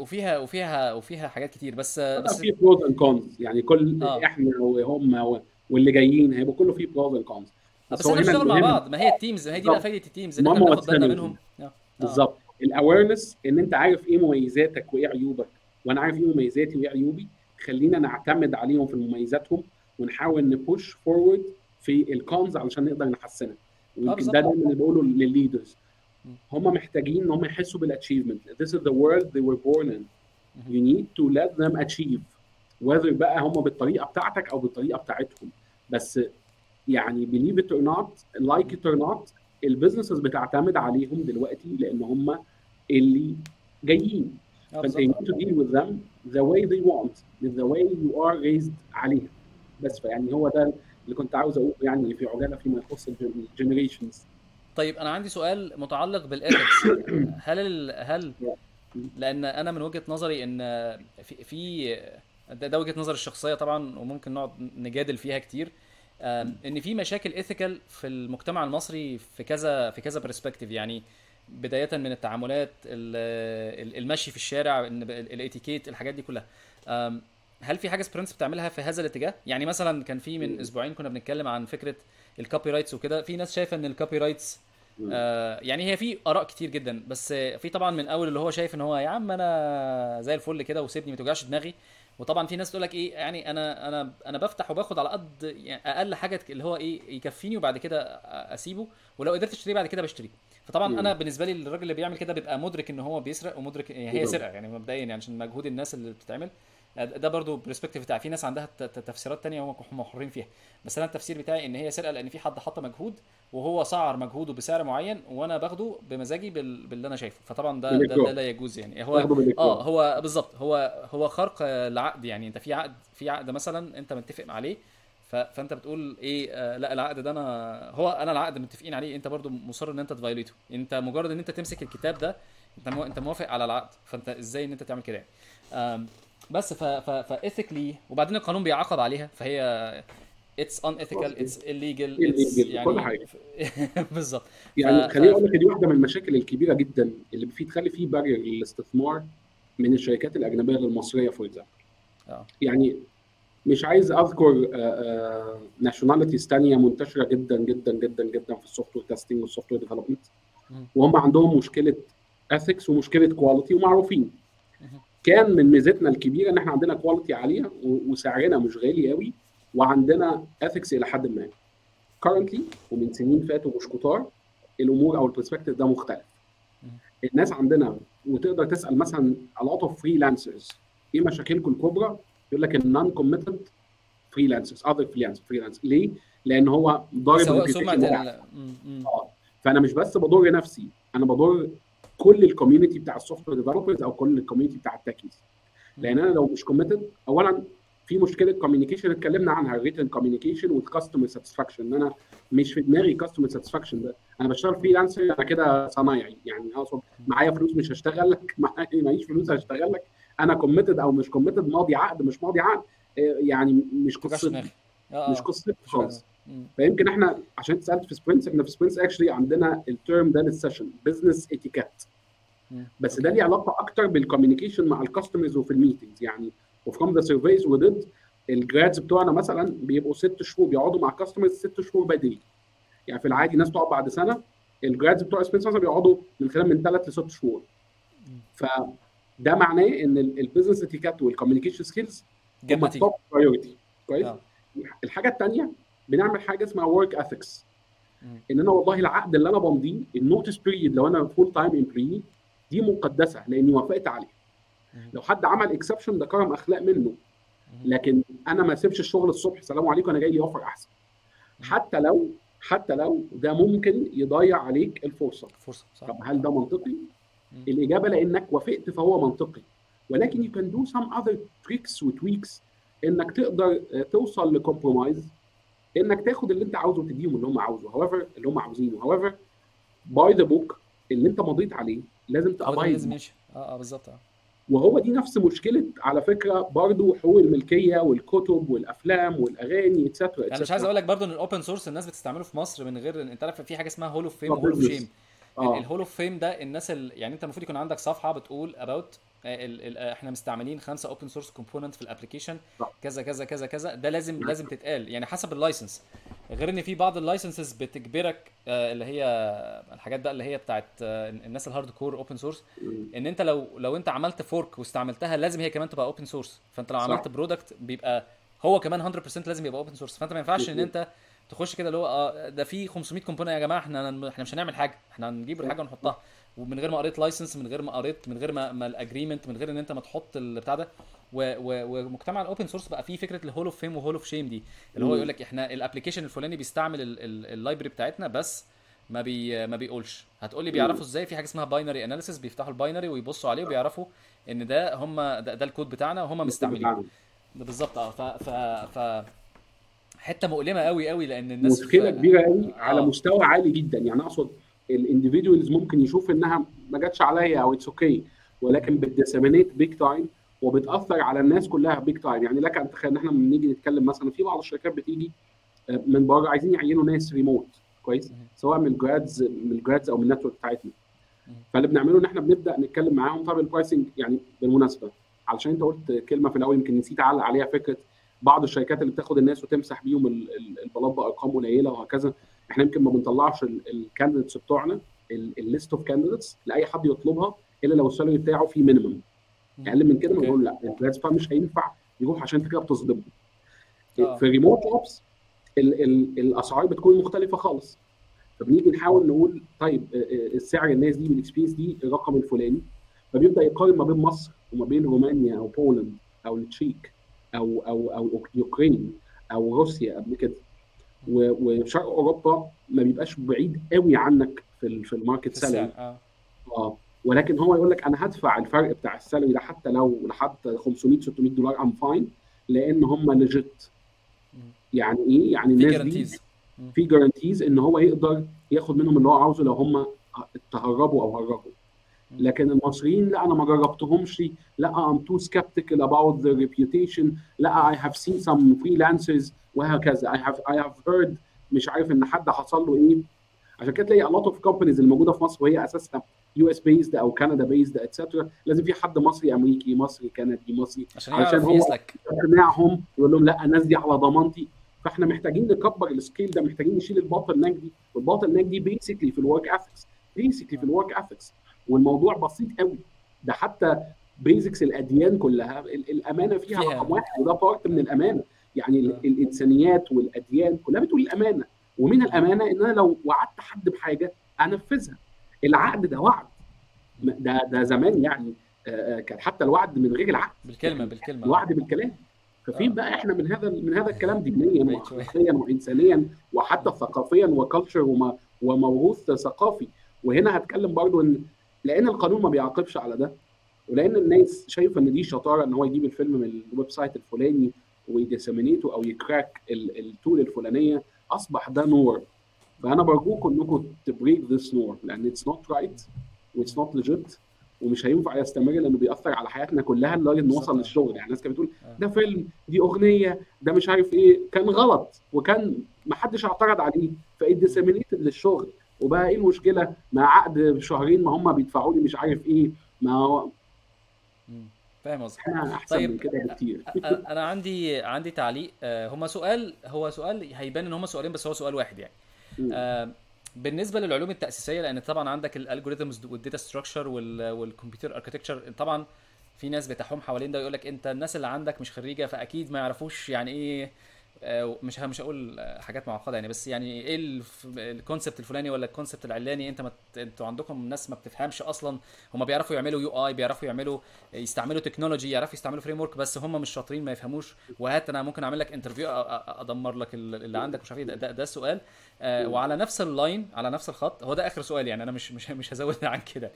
وفيها حاجات كتير، بس في بروز اند كونز، يعني كل اه احنا وهم واللي جايين هيبقى كله فيه بروز اند كونز. بس بس هو احنا هنا بنشتغل مع المهم، بعض، ما هي التيمز، ما هي دي بقى بالظبط، فايده التيمز ان احنا المهم هو بناخد بالنا السينرجي. منهم. اه بالظبط، الاويرنس ان انت عارف ايه مميزاتك وايه عيوبك، وانا عارف ايه مميزاتي وايه عيوبي، خلينا نعتمد عليهم في مميزاتهم ونحاول نبوش فورورد في الكونز علشان نقدر نحسنها. ويمكن ده بالظبط. دايما اللي بقوله للليدرز، مم. هم محتاجين ان هم يحسوا بالاتشيفمنت. This is the world they were born in. مهم. You need to let them achieve, whether بقى هم بالطريقه بتاعتك او بالطريقه بتاعتهم. بس يعني believe it or not, like مم. it or not, البيزنسز بتعتمد عليهم دلوقتي لان هم اللي جايين. فانت you بالظبط. need to deal with them the way they want, the way you are raised عليها. بس فيعني هو ده اللي كنت عاوز اقوله يعني في عجاله فيما يخص الجنريشنز. طيب انا عندي سؤال متعلق بالاثكس. هل لان انا من وجهة نظري ان في ده وجهة نظري الشخصية طبعا، وممكن نقعد نجادل فيها كتير. ان في مشاكل ايثيكال في المجتمع المصري في كذا برسبكتيف، يعني بداية من التعاملات، المشي في الشارع، الاتيكيت، الحاجات دي كلها. هل في حاجة سبرنتس بتعملها في هذا الاتجاه؟ يعني مثلا كان في من اسبوعين كنا بنتكلم عن فكرة الكوبي رايتس وكده. في ناس شايفة ان الكوبي رايتس يعني هي في اراء كتير جدا، بس في طبعا من اول اللي هو شايف ان هو يا عم انا زي الفل كده وسيبني ما توجعش دماغي. وطبعا في ناس تقول لك ايه، يعني انا بفتح وباخد على قد يعني اقل حاجه اللي هو ايه يكفيني، وبعد كده اسيبه، ولو قدرت اشتريه بعد كده بشتريه. فطبعا انا بالنسبه لي الراجل اللي بيعمل كده بيبقى مدرك ان هو بيسرق، ومدرك يعني هي سرقه يعني مبدئيا، يعني عشان مجهود الناس اللي بتتعمل. ده برضو برسبكتيف بتاع في ناس عندها تفسيرات تانية هم حرين فيها. بس انا التفسير بتاعي ان هي سرقه لان في حد حط مجهود وهو سعر مجهوده بسعر معين، وانا باخده بمزاجي باللي انا شايفه. فطبعا ده لا يجوز يعني. هو تاخده بالاكراه. هو بالظبط، هو خرق العقد. يعني انت في عقد مثلا انت متفق عليه، فانت بتقول ايه لا العقد ده انا العقد متفقين عليه، انت برضو مصر ان انت تفايليته. انت مجرد ان انت تمسك الكتاب ده انت موافق على العقد، فانت ازاي ان انت تعمل كده يعني. بس فايثيكلي، وبعدين القانون بيعاقب عليها، فهي it's unethical, خلاص كده. it's illegal, it's illegal، كل يعني حاجه. بالظبط. يعني خليني اقول لك دي واحده من المشاكل الكبيره جدا اللي تخلي فيه بارير للاستثمار من الشركات الاجنبيه للمصريه فور اكزامبل. اه يعني مش عايز اذكر ناشوناليتيز ثانيه منتشره جدا جدا جدا جدا في السوفت وير تيستنج والسوفت وير ديفلوبمنت، مهم. وهم عندهم مشكله اثكس ومشكله كواليتي ومعروفين. مهم. كان من ميزتنا الكبيره ان احنا عندنا كواليتي عاليه وسعرنا مش غالي قوي، وعندنا اثكس الى حد ما. currently ومن سنين فاتوا مش كتار الامور او البرسبكتيف ده مختلف. مهم. الناس عندنا، وتقدر تسال مثلا a lot of freelancers ايه مشاكلكم الكبرى، يقول لك النون كوميتد فريلانسرز other freelance. ليه؟ لان هو ضارب سمعة الريبيوتيشن بتاعه. مم. فانا مش بس بضر نفسي، انا بضر كل الكوميونتي بتاع السوفت وير ديفلوبرز او كل الكوميونتي بتاع التكيز. لان انا لو مش كوميتد، اولا في مشكله كوميونيكيشن اتكلمنا عنها، الريتن كوميونيكيشن والكاستمر ساتسفاكشن. ان انا مش في دماغي كاستمر ساتسفاكشن ده، انا بشتغل فريلانسر، انا كده صنايعي يعني. اقصد معايا فلوس مش هشتغل لك، معيش فلوس هشتغل لك. انا كوميتد او مش كوميتد، ماضي عقد مش ماضي عقد، يعني مش توجعش قصتي، دماغي. مش قصتي مش حاجه. خالص. فيمكن احنا عشان سالت في سبرنتس، احنا في سبرنتس اكشلي عندنا الترم ده للسيشن بزنس اتيكيت، بس ده ليه علاقه اكتر بالكوميونيكيشن مع الكاستمرز وفي الميتنجز يعني. وفروم ذا سيرفيز وديد الجرادز بتوعنا مثلا بيبقوا 6 شهور بيقعدوا مع الكاستمرز، 6 شهور بدري. يعني في العادي ناس تقعد بعد سنه، الجرادز بتوع سبرنتس مثلا بيقعدوا من خلال من 3 ل 6 شهور. فده معناه ان البيزنس اتيكيت والكوميونيكيشن سكيلز جاب هم نتيجه. التوب برايورتي. كويس. اه الحاجه الثانيه بنعمل حاجه اسمها ورك اثكس، ان انا والله العقد اللي انا بمضيه، النوتس بيريد لو انا فول تايم امبلوي دي مقدسه لاني وافقت عليه. لو حد عمل اكسبشن ده كرم اخلاق منه، لكن انا ما اسيبش الشغل الصبح سلام عليكم انا جاي لي اوفر احسن، مهم. حتى لو ده ممكن يضيع عليك الفرصه. فرصه، صح طب هل صح. ده منطقي؟ مم. الاجابه لانك وافقت فهو منطقي، ولكن you can do some other tricks وتويكس انك تقدر توصل لكومبرومايز، انك تاخد اللي انت عاوزه وتديهم اللي هم عاوزه however اللي هم عاوزينه however باي ذا بوك اللي انت مضيت عليه لازم هو ده اللي لازم تابايد. يمشي. اه بالظبط اه. وهو دي نفس مشكله على فكره برضو حقوق الملكيه والكتب والافلام والاغاني اتسترا انا مش عايز اتسترا. اقول لك برضو ان الاوبن سورس الناس بتستعمله في مصر من غير انت عارف في حاجه اسمها هول اوف ده فيم وهول اوف شيم. بزنس. اه الهول اوف فيم ده الناس يعني انت المفروض يكون عندك صفحه بتقول اباوت احنا مستعملين 5 اوبن سورس كومبوننت في الابلكيشن صح. كذا كذا كذا كذا. ده لازم تتقال يعني حسب اللايسنس. غير ان في بعض اللايسنسز بتجبرك اللي هي الحاجات بقى اللي هي بتاعت الناس الهارد كور اوبن سورس، ان انت لو انت عملت فورك واستعملتها لازم هي كمان تبقى اوبن سورس. فانت لو صح. عملت برودكت بيبقى هو كمان 100% لازم يبقى اوبن سورس. فانت ما ينفعش ان انت تخش كده اللي هو ده في 500 كومبوننت يا جماعه احنا مش هنعمل حاجه، احنا هنجيب صح. الحاجه ونحطها ومن غير ما قريت لايسنس، من غير ما قريت، من غير ما الاجريمنت، من غير ان انت ما تحط البتاع ده. ومجتمع الاوبن سورس بقى فيه فكره الهول اوف فيم وهول اوف شيم دي، اللي هو يقول لك احنا الابلكيشن الفلاني بيستعمل اللايبرري بتاعتنا بس ما بيقولش. هتقول لي بيعرفوا ازاي؟ في حاجه اسمها باينري اناليسيس، بيفتحوا الباينري ويبصوا عليه وبيعرفوا ان ده هم ده الكود بتاعنا وهم مستعملينه. ده بالظبط اه. ف حته مؤلمه قوي قوي لان الناس مشكله في كبيره قوي على اه. مستوى عالي جدا، يعني اقصد الانديفيدوالز ممكن يشوف انها ما جاتش عليا او اتس اوكي، ولكن بتديسيمينيت بيج تايم وبتاثر على الناس كلها بيج تايم. يعني لك ان تتخيل ان احنا لما بنيجي نتكلم مثلا في بعض الشركات بتيجي من بره عايزين يعينوا ناس ريموت كويس، سواء من الجرادز او من النتورك بتاعتنا. فاللي بنعمله ان احنا بنبدا نتكلم معاهم. طب البرايسنج يعني بالمناسبه علشان انت قلت كلمه في الاول يمكن نسيت اعلق عليها، فكره بعض الشركات اللي بتاخد الناس وتمسح بيهم البلاط بارقام قليله وهكذا. احنا يمكن ما بنطلعش الكانديديتس بتوعنا الليست اوف كانديديتس لاي حد يطلبها الا لو السالري بتاعه فيه مينيمم. اقل من كده اوكي. بنقول لا الجرادز مش هينفع يروح عشان انت كده بتصدمه. اه. في ريموت جوبز الاسعار بتكون مختلفه خالص، فبنيجي نحاول نقول طيب السعر الناس دي بالاكسبيرينس دي الرقم الفلاني، فبيبدا يقارن ما بين مصر وما بين رومانيا او بولند او التشيك او يوكرين او روسيا قبل كده. وشرق اوروبا ما بيبقاش بعيد قوي عنك في الماركت في السعر سالري. اه. ولكن هو يقول لك انا هدفع الفرق بتاع السالري ده حتى لو لحد 500 $600 ام فاين، لان هم ليجيت. يعني ايه؟ يعني في الناس دي جارانتيز. في جارانتيز ان هو يقدر ياخد منهم اللي هو عاوزه لو هم تهربوا او هربوا. لكن المصريين لا انا ما جربتهمش، لا I'm too skeptical about the reputation، لا I have seen some freelancers وهكذا I have heard مش عارف ان حد حصل له ايه. عشان كده تلاقي a lot of companies الموجوده في مصر وهي اساسها US based او كندا based اتسترا لازم في حد مصري امريكي مصري كندي مصري عشان علشان يعرف هو يسلك. يقنعهم يقول لهم لا الناس دي على ضمانتي. فاحنا محتاجين نكبر السكيل ده، محتاجين نشيل الباطل ناك دي، والباطل ناك دي بيسكلي في الورك اثكس، بيسكلي في الورك اثكس. والموضوع بسيط قوي، ده حتى بيزكس الاديان كلها الامانه فيها رقم واحد، وده بارت من الامانه. يعني الانسانيات والاديان كلها بتقول الامانه، ومن الامانه ان انا لو وعدت حد بحاجه انفذها. العقد ده وعد، ده زمان يعني كان حتى الوعد من غير العقد بالكلمه يعني بالكلمه اه. الوعد بالكلام. ففين بقى احنا من هذا الكلام دينيا بعيد شويه. واخلاقيا وانسانيا وحتى ثقافيا وكالتشر وموروث ثقافي. وهنا هتكلم برضو ان لان القانون ما بيعاقبش على ده، ولان الناس شايفه ان دي شطاره ان هو يجيب الفيلم من الويب سايت الفلاني ويديسمينيته او يكراك التول الفلانيه، اصبح ده نور. فانا برجوكم انكم تبريك ذس نور، لان اتس نوت رايت واتس نوت ليجيت، ومش هينفع يستمر لانه بيأثر على حياتنا كلها لدرجه انه وصل للشغل. يعني الناس كانت بتقول ده فيلم، دي اغنيه، ده مش عارف ايه، كان غلط وكان ما حدش اعترض عليه فاديسمينيتد للشغل. وبقى ايه المشكله مع عقد بشهرين ما هم بيدفعوا لي مش عارف ايه؟ ما هو فاهم قصدك. احنا احسن طيب من كده بكتير. انا عندي تعليق. هو سؤال هيبان ان هما سؤالين بس هو سؤال واحد يعني. بالنسبه للعلوم التاسيسيه، لان طبعا عندك الالجوريثمز والداتا ستراكشر والكمبيوتر اركتكتشر، طبعا في ناس بتحوم حوالين ده ويقول لك انت الناس اللي عندك مش خريجه فاكيد ما يعرفوش يعني ايه مش هقول حاجات معقده يعني، بس يعني ايه الكونسبت الفلاني ولا الكونسبت العلاني، انت انتوا عندكم ناس ما بتفهمش اصلا. هم بيعرفوا يعملوا يو اي، بيعرفوا يعملوا يستعملوا تكنولوجي، يعرفوا يستعملوا فريم ورك، بس هم مش شاطرين، ما يفهموش. وهات انا ممكن اعمل لك انترفيو، ادمر لك اللي عندك، مش عارف ايه. ده السؤال. وعلى نفس اللاين، على نفس الخط، هو ده اخر سؤال يعني، انا مش هزود عن كده.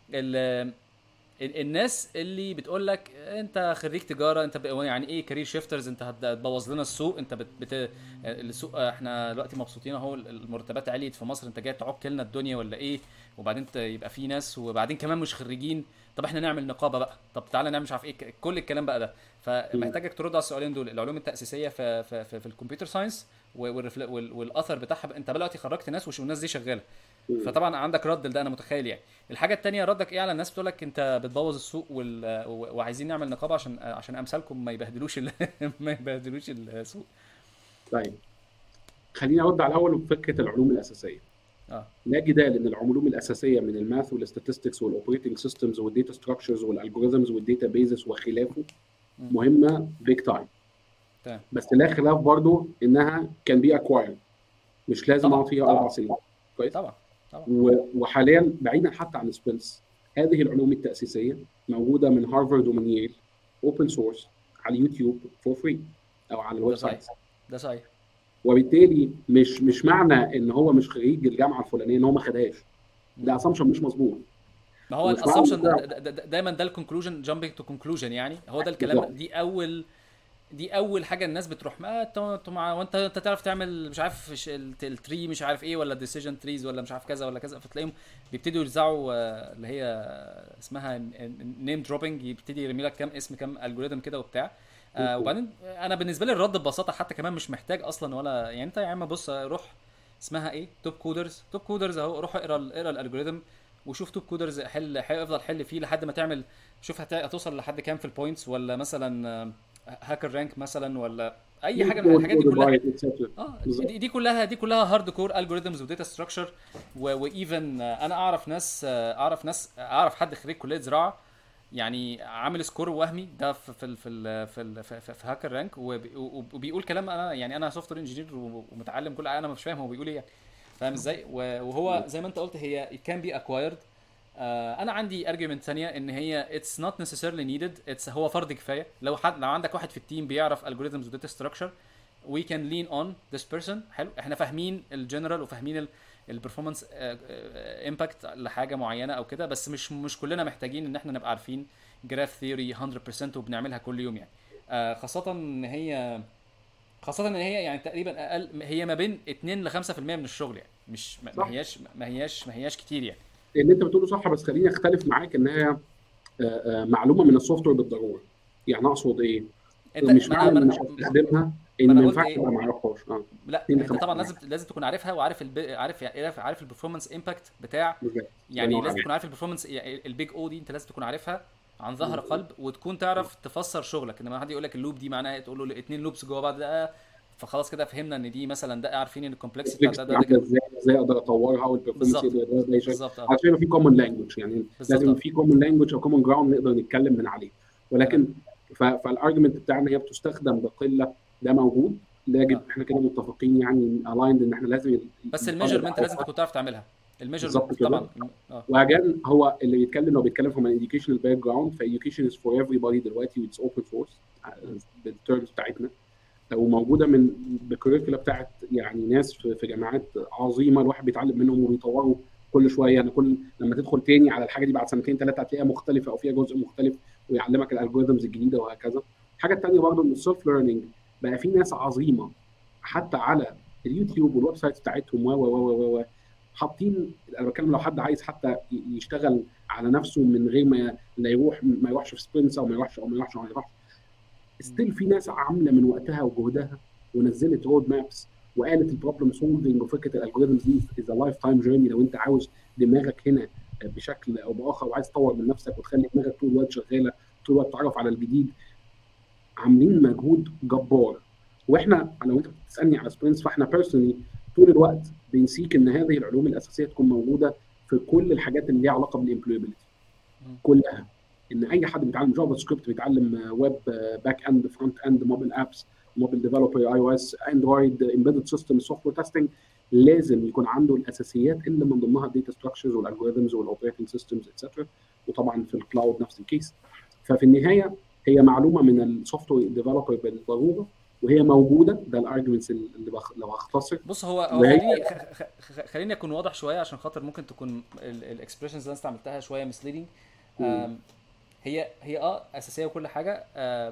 الناس اللي بتقول لك انت خريج تجاره، انت يعني ايه كارير شيفترز، انت هتبوظ لنا السوق، انت السوق احنا دلوقتي مبسوطين اهو، المرتبات عليت في مصر، انت جاي تعك لنا الدنيا ولا ايه؟ وبعدين يبقى في ناس، وبعدين كمان مش خريجين، طب احنا نعمل نقابه بقى، طب تعالى نعمل مش عارف ايه، كل الكلام بقى ده. فمحتاجك ترد على السؤالين دول، العلوم التاسيسيه في الكمبيوتر ساينس، والاثر بتاعها. انت دلوقتي خرجت ناس والناس دي شغاله، فطبعا عندك رد لده، انا متخيل يعني. الحاجه التانية، ردك ايه على الناس بتقول لك انت بتبوظ السوق وعايزين نعمل نقابه عشان امثالكم ما يبهدلوش ما يبهدلوش السوق. طيب خليني ارد على الاول بفكره العلوم الاساسيه. اه. لا جدال ان العلوم الاساسيه من الماث والستاتستكس والاوبريتنج سيستمز والديتا ستراكشرز والالجوريزمز والداتا بيزز وخلافه مم. مهمه بيج تايم، تمام. بس لا خلاف برضو انها كان بي اكوايرد، مش لازم طبعا اقعد فيها طبعا 4 سنين. كويس. طبعا طبعا. وحاليا بعيدا حتى عن سبينس، هذه العلوم التاسيسيه موجوده من هارفارد ومن ييل اوبن سورس على اليوتيوب فور فري او على الويب ده صحيح. سايت. ده صحيح. وبالتالي مش معنى ان هو مش خريج الجامعه الفلانيه ان هو ما خدهاش، ده اسامبشن مش مظبوط. ما هو ومش معنى الاسامبشن دايما ده الكونكلوجن، جامبنج تو كونكلوجن يعني، هو ده الكلام. بالظبط. دي اول حاجه الناس بتروح، ما انت وانت تعرف تعمل مش عارف التري مش عارف ايه، ولا ديسيجن تريز، ولا مش عارف كذا ولا كذا، فتلاقيهم بيبتدوا يرزعوا اللي هي اسمها نيم دروبنج، يبتدي يرمي لك كام اسم، كام الجوريثم كده وبتاع. وبعدين انا بالنسبه لي الرد ببساطه حتى كمان مش محتاج اصلا، ولا يعني انت يا عم بص، روح اسمها ايه، توب كودرز اهو، روح اقرا الالجوريثم وشوف توب كودرز، افضل حل فيه لحد ما تعمل، شوف هتوصل لحد كام في البوينتس، ولا مثلا هاكر رانك مثلا، ولا اي حاجه من الحاجات دي كلها. دي كلها هارد كور الجوريثمز وداتا ستراكشر. وايفن انا اعرف حد خريج كليه زراعه يعني عامل سكور وهمي ده في هاكر رانك، وبيقول كلام، انا يعني انا سوفت وير انجينير ومتعلم كل حاجه، انا مش فاهم هو بيقول ايه يعني، فاهم ازاي؟ وهو زي ما انت قلت، هي it can be acquired. انا عندي argument ثانيه، ان هي it's not necessarily needed. هو فرض كفايه، لو عندك واحد في التيم بيعرف algorithms و data structure, we can lean on this person. حلو، احنا فاهمين الجنرال وفاهمين البرفورمانس امباكت لحاجه معينه او كده، بس مش كلنا محتاجين ان احنا نبقى عارفين جراف ثيوري 100% وبنعملها كل يوم يعني. خاصه ان هي يعني تقريبا اقل، هي ما بين 2 ل 5% من الشغل يعني، مش ما هياش كتير يعني. اللي انت بتقوله صح، بس خليني اختلف معاك انها معلومه من السوفت وير بالضروره. يعني اقصد ايه؟ مش معنى ان مش هستخدمها ان ما ما انا قلت ينفعش ايه، ابقى ما اعرفهاش. لا انت طبعا لازم تكون عارفها، وعارف عارف البرفورمانس امباكت بتاع، يعني لازم تكون عارف البرفورمانس البيج او دي، انت لازم تكون عارفها عن ظهر قلب، وتكون تعرف تفسر شغلك. انما حد يقول لك اللوب دي معناها ايه، تقول له 2 لوبس جوه بعض، ده فخلاص كده فهمنا ان دي مثلا، ده عارفين ان الكومبلكسيتي بتاع ده كده ازاي اقدر اطورها، والبرفورمانس بالظبط. يقدر ده بالظبط عشان يبقى في كومن لانجوج. يعني لازم بالظبط. في كومن لانجوج او كومن جراوند نقدر نتكلم من عليه. تمام. ولكن فالارجيومنت بتاعنا هي بتستخدم بقله، ده موجود، لا احنا كده متفقين يعني الايند ان احنا لازم بس الميجرمنت لازم تكون تعرف تعملها، بالظبط الميجرمنت كده. طبعا. واجان هو اللي بيتكلم، لو بيتكلم from an educational background، فeducation is for everybody دلوقتي، it's open source بالتيرمز بتاعتنا، وموجوده من بالكوريكولا بتاعت يعني ناس في جامعات عظيمه، الواحد بيتعلم منهم وبيطوروا كل شويه. يعني لما تدخل تاني على الحاجه دي بعد سنتين ثلاثه هتلاقيها مختلفه او فيها جزء مختلف، ويعلمك الالجوريزمز الجديده وهكذا. الحاجه الثانيه برضه ان السيلف ليرنينج بقى في ناس عظيمه حتى على اليوتيوب والويب سايت بتاعتهم و حاطين. انا بتكلم لو حد عايز حتى يشتغل على نفسه من غير ما يروحش في سبرنتس او ما يروحش ستيل في ناس عامله من وقتها وجهدها ونزلت رود مابس وقالت البروبلم سولفنج وفكره الالجوريزمز دي از لايف تايم جيرني. لو انت عاوز دماغك هنا بشكل او باخر وعايز تطور من نفسك وتخلي دماغك طول الوقت شغاله، طول الوقت تتعرف على الجديد، عاملين مجهود جبار. واحنا لو انت بتسالني على سبرنتس، فاحنا بيرسونلي طول الوقت بنسيك ان هذه العلوم الاساسيه تكون موجوده في كل الحاجات اللي ليها علاقه بالامبلويبيلتي كلها. ان اي حد بيتعلم جافا سكريبت، بيتعلم ويب باك اند، فرونت اند، موبايل ابس، موبايل ديفلوبر، اي او اس، اندرويد، امبيدد سيستم، سوفت وير تيستنج، لازم يكون عنده الاساسيات اللي من ضمنها الداتا ستراكشرز والالجوريثمز والاوبريتنج سيستمز اتسترا. وطبعا في الكلاود نفس الكيس. ففي النهايه هي معلومه من السوفت وير ديفلوبر بالضروره، وهي موجوده. ده الارجيومنتس اللي لو هختصر. بص هو وهي خليني اكون واضح شويه عشان خاطر ممكن تكون الاكسبريشنز اللي انا استعملتها شويه مسليدنج. هي اساسيه وكل حاجه،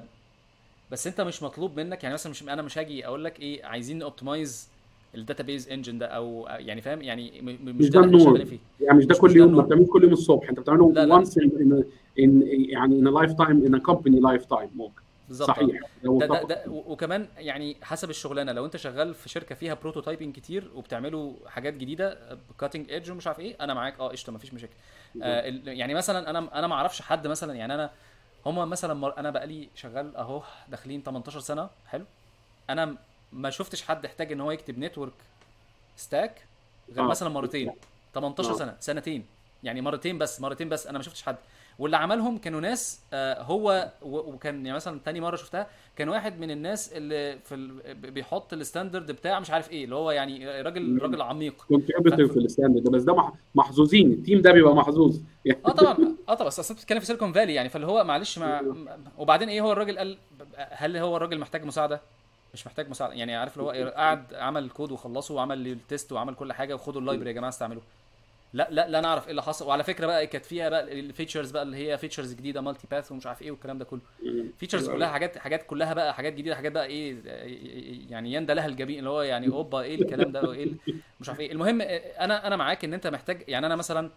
بس انت مش مطلوب منك يعني مثلا انا مش هاجي اقول لك ايه عايزين اوبتمايز الداتابيز انجن ده او يعني فاهم يعني مش مش ده ده اللي احنا النور، شغالين فيه. يعني مش ده مش كل ده يوم، ما النور. بتعملوش كل يوم الصبح، انت بتعمله لا لا once in يعني in a lifetime in a company lifetime ممكن. بالظبط. صحيح، ده متفق. وكمان يعني حسب الشغلانه، لو انت شغال في شركه فيها بروتوتايبنج كتير وبتعملوا حاجات جديده كاتنج ايدج ومش عارف ايه، انا معاك قشطه مفيش مشاكل. يعني مثلا انا ما اعرفش حد مثلا، يعني انا هما مثلا انا بقالي شغال اهو داخلين 18 سنه حلو. انا ما شفتش حد احتاج ان هو يكتب نتورك ستاك غير اه مثلا مرتين. 18 اه سنه سنتين يعني مرتين بس انا ما شفتش حد. واللي عملهم كانوا ناس هو وكان يعني مثلا تاني مره شفتها كان واحد من الناس اللي بيحط الستاندرد بتاع مش عارف ايه، اللي هو يعني راجل عميق. كونتريبيتور في الستاند ده، بس ده محظوظين، التيم ده بيبقى محظوظ يعني. طبعا بس اصل بتتكلم في سيليكون فالي يعني، فاللي هو معلش وبعدين ايه هو الراجل قال؟ هل هو الراجل محتاج مساعده؟ مش محتاج مساعده يعني، عارف اللي هو قعد عمل الكود وخلصه وعمل التيست وعمل كل حاجه وخدوا اللايبرري يا جماعه استعملوه. لا انا اعرف ايه اللي حصل. وعلى فكره بقى كانت فيها بقى الفيتشرز بقى اللي هي فيتشرز جديده مالتي باث ومش عارف ايه والكلام ده كله. فيتشرز كلها حاجات كلها بقى حاجات جديده، حاجات بقى ايه يعني يندى لها الجبين، اللي هو يعني اوبا ايه الكلام ده وايه مش عارف ايه. المهم انا معاك ان انت محتاج يعني انا مثلا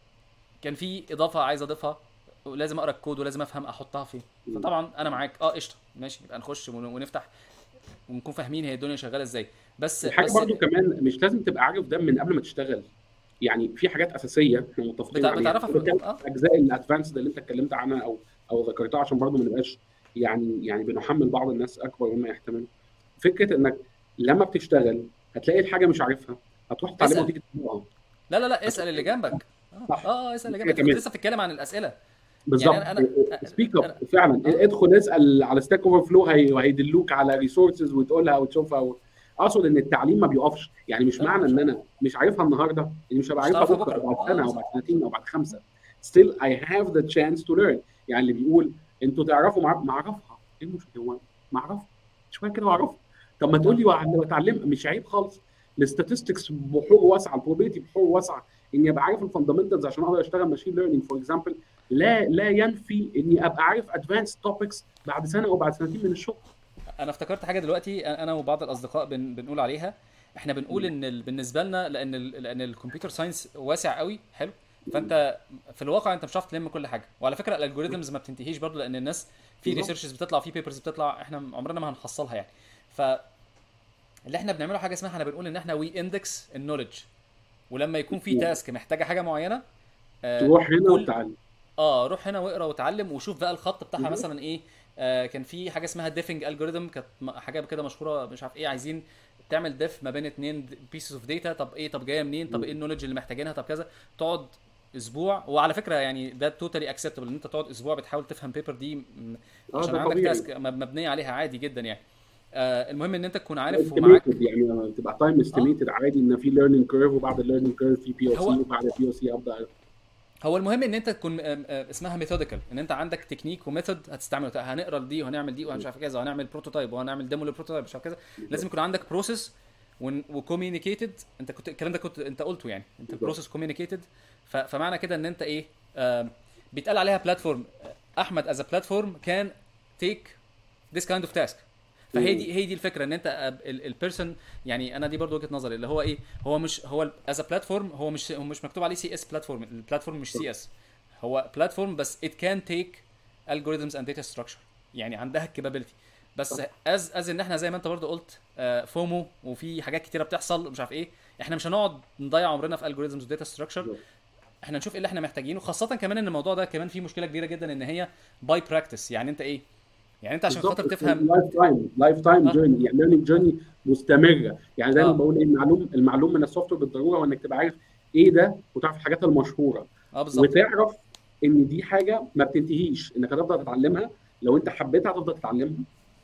كان في اضافه عايز اضيفها ولازم اقرا الكود ولازم افهم احطها فين. فطبعا انا معاك قشطه ماشي، يبقى نخش ونفتح ونكون فاهمين هي الدنيا شغاله ازاي. الحاجه بس برضو كمان مش لازم تبقى عارف ده من قبل ما تشتغل. يعني في حاجات اساسيه احنا متفقين عليها. بتعرفها انا بتكلم اه. في الاجزاء الادفانسد اللي انت اتكلمت عنها او ذكرتها، عشان برضو ما نبقاش يعني بنحمل بعض الناس اكبر مما يحتمل. فكره انك لما بتشتغل هتلاقي الحاجه مش عارفها، هتروح تتعلمها اسال. وتيجي تطبقها. لا اسال هتروح اللي جنبك. صح. اسال اللي حاجه جنبك. انت كنت كمان لسه بتتكلم عن الاسئله. يعني بالظبط، انا سبيك اب انا فعلا، اه ادخل اسال على ستاك اوفر فلو، وهيدلوك على ريسورسز وتقولها وتشوفها اقصد ان التعليم ما بيقفش. يعني مش لا لا معنى مش ان انا مش عارفها النهارده اني مش هبقى مش عارفها هتعرفها بكره او بكره. بعد سنه او بعد صح. سنتين او بعد خمسه. still I have the chance to learn. يعني اللي بيقول انتوا تعرفوا ما اعرفها، ايه المشكله؟ هو ما اعرفها شويه كده واعرفها. طب ما تقول اه لي بتعلم، مش عيب خالص. الاستاتستكس بحور واسعه، البروبابيلتي بحور واسعه، اني ابقى عارف الفاندمنتالز عشان اقدر اشتغل ماشين ليرنينج فور اكزامبل. لا ينفي اني ابقى عارف ادفانس توبكس بعد سنه او بعد سنتين من الشغل. انا افتكرت حاجه دلوقتي انا وبعض الاصدقاء بنقول عليها. احنا بنقول ان بالنسبه لنا لان الكمبيوتر ساينس واسع قوي حلو. فانت في الواقع انت مش هتعرف تلم كل حاجه. وعلى فكره الالجوريزمز ما بتنتهيش برضه، لان الناس في بالظبط. ريسيرشز بتطلع في بيبرز بتطلع احنا عمرنا ما هنحصلها يعني. فاللي احنا بنعمله حاجه اسمها احنا بنقول ان احنا وي اندكس النولج. ولما يكون في تاسك محتاجه حاجه معينه تروح هنا كل وتتعلم. روح هنا واقرا واتعلم وشوف بقى الخط بتاعها بالظبط. مثلا ايه. كان في حاجه اسمها ديفنج الجوريثم، كانت حاجه كده مشهوره مش عارف ايه، عايزين تعمل ديف ما بين اتنين بيسز اوف داتا. طب جايه منين؟ طب ايه النولج اللي محتاجينها؟ طب كذا. تقعد اسبوع. وعلى فكره يعني ده توتالي اكسبتبل ان انت تقعد اسبوع بتحاول تفهم بيبر دي اه عشان ده عندك طبيعي. تاسك مبنيه عليها عادي جدا يعني. المهم ان انت تكون عارف استيميتد، ومعاك. يعني تبقى تايم اه استيميتد عادي، ان في ليرنينج كيرف، وبعد الليرنينج كيرف في بي او سي، هو وبعد البي او سي ابدا. هو المهم ان انت تكون اسمها ميثوديكال، ان انت عندك تكنيك وميثود هتستعمله. هنقرا دي وهنعمل دي ومش عارف كذا وهنعمل بروتوتايب وهنعمل ديمو للبروتوتايب مش عارف كذا. لازم بالظبط. يكون عندك بروسيس وكوميونيكيتد. انت كنت الكلام ده انت قلته يعني، انت بالظبط. البروسيس كوميونيكيتد. فمعنى كده ان انت ايه بيتقال عليها بلاتفورم. احمد از بلاتفورم كان تيك ذيس كايند اوف تاسك. هي دي الفكره ان انت البيرسون. يعني انا دي برضو وجهه نظري اللي هو ايه. هو مش هو از بلاتفورم، هو مش مكتوب عليه سي اس بلاتفورم. البلاتفورم مش سي اس، هو بلاتفورم بس it can take algorithms and data structure. يعني عندها الكابابيلتي. بس از ان احنا زي ما انت برضو قلت فومو وفي حاجات كتيره بتحصل مش عارف ايه. احنا مش هنقعد نضيع عمرنا في algorithms و data structure. احنا نشوف ايه اللي احنا محتاجينه. خاصه كمان ان الموضوع ده كمان فيه مشكله كبيره جدا ان هي باي براكتس. يعني انت ايه، يعني انت عشان بالظبط. خاطر تفهم لايف تايم اه جيرني، يعني ليرنينج جيرني مستمره. يعني دايما اه بقول ايه، المعلوم من السوفت وير بالضروره، وانك تبقى عارف ايه ده، وتعرف الحاجات المشهوره، بالظبط. وتعرف ان دي حاجه ما بتنتهيش، انك هتفضل تتعلمها. لو انت حبيتها هتفضل تتعلمها.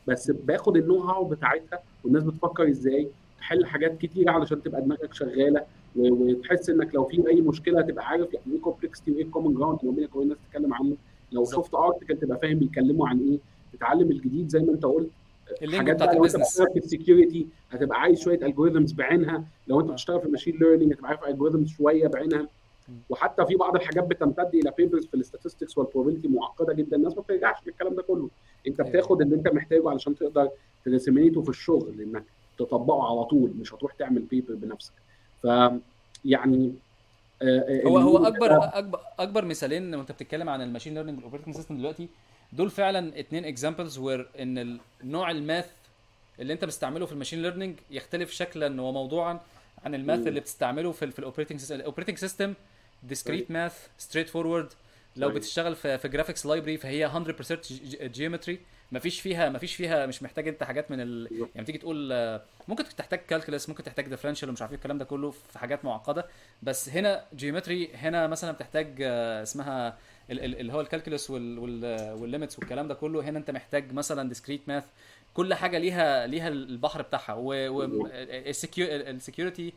بس باخد النو هاو بتاعتها والناس بتفكر ازاي تحل حاجات كتير علشان تبقى دماغك شغاله، وتحس انك لو في اي مشكله تبقى عارف يعني ايه كومبلكسيتي وايه الكومن جراوند ما بينك وبين الناس تتكلم عنه. لو بالظبط. شفت ارتكل تبقى فاهم بيتكلموا عن ايه، تتعلم الجديد زي ما انت قلت. اللينجو حاجات بتاعت بقى لو انت البيزنس. بتشتغل في السكيورتي هتبقى عايز شويه الجوريزمز بعينها، لو انت اه. بتشتغل في الماشين ليرنينج هتبقى عارف الجوريزمز شويه بعينها. مم. وحتى في بعض الحاجات بتمتد الى بيبرز في الاستاتستكس والبروبابيلتي معقده جدا، الناس ما بترجعش للكلام ده كله. انت ايوه ايوه. بتاخد اللي انت محتاجه علشان تقدر ترسمينيته في الشغل، انك تطبقه على طول، مش هتروح تعمل بيبر بنفسك. ف يعني هو الميم اكبر مثالين وانت بتتكلم عن الماشين ليرنينج والاوبريتنج سيستم دلوقتي، دول فعلا اتنين اكزامبلز وير ان النوع الماث اللي انت بتستعمله في الماشين ليرنينج يختلف شكلا وموضوعا عن الماث اللي بتستعمله في الاوبريتنج سيستم. الاوبريتنج سيستم صحيح ديسكريت ماث ستريت فورورد. لو صحيح بتشتغل في جرافيكس لايبرري فهي 100% جيومتري. مفيش فيها مش محتاج انت حاجات بالظبط. يعني تيجي تقول ممكن تحتاج كالكولس، ممكن تحتاج ديفرنشال ومش عارف ايه الكلام ده كله في حاجات معقده. بس هنا جيومتري، هنا مثلا بتحتاج اسمها اللي هو الكالكولس والليميتس والكلام ده كله. هنا انت محتاج مثلا ديسكريت ماث. كل حاجه ليها البحر بتاعها. بالظبط. والسكيورتي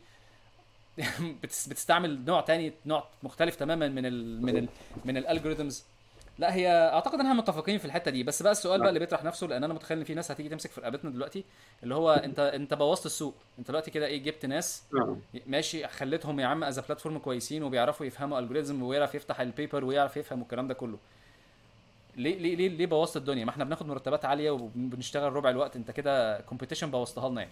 بتستعمل نوع تاني، نوع مختلف تماما من الالجوريثمز. لا هي اعتقد انها متفقين في الحته دي. بس بقى السؤال بقى اللي بيطرح نفسه، لان انا متخيل ان في ناس هتيجي تمسك في رقبتنا دلوقتي، اللي هو انت بوظت السوق. انت دلوقتي كده ايه، جبت ناس آه. ماشي خليتهم يا عم از بلاتفورم كويسين وبيعرفوا يفهموا الجوريزم ويعرف يفتح البيبر ويعرف يفهم الكلام ده كله. ليه بوظت الدنيا؟ ما احنا بناخد مرتبات عاليه وبنشتغل ربع الوقت. انت كده كومبيتيشن بوظتها لنا يعني.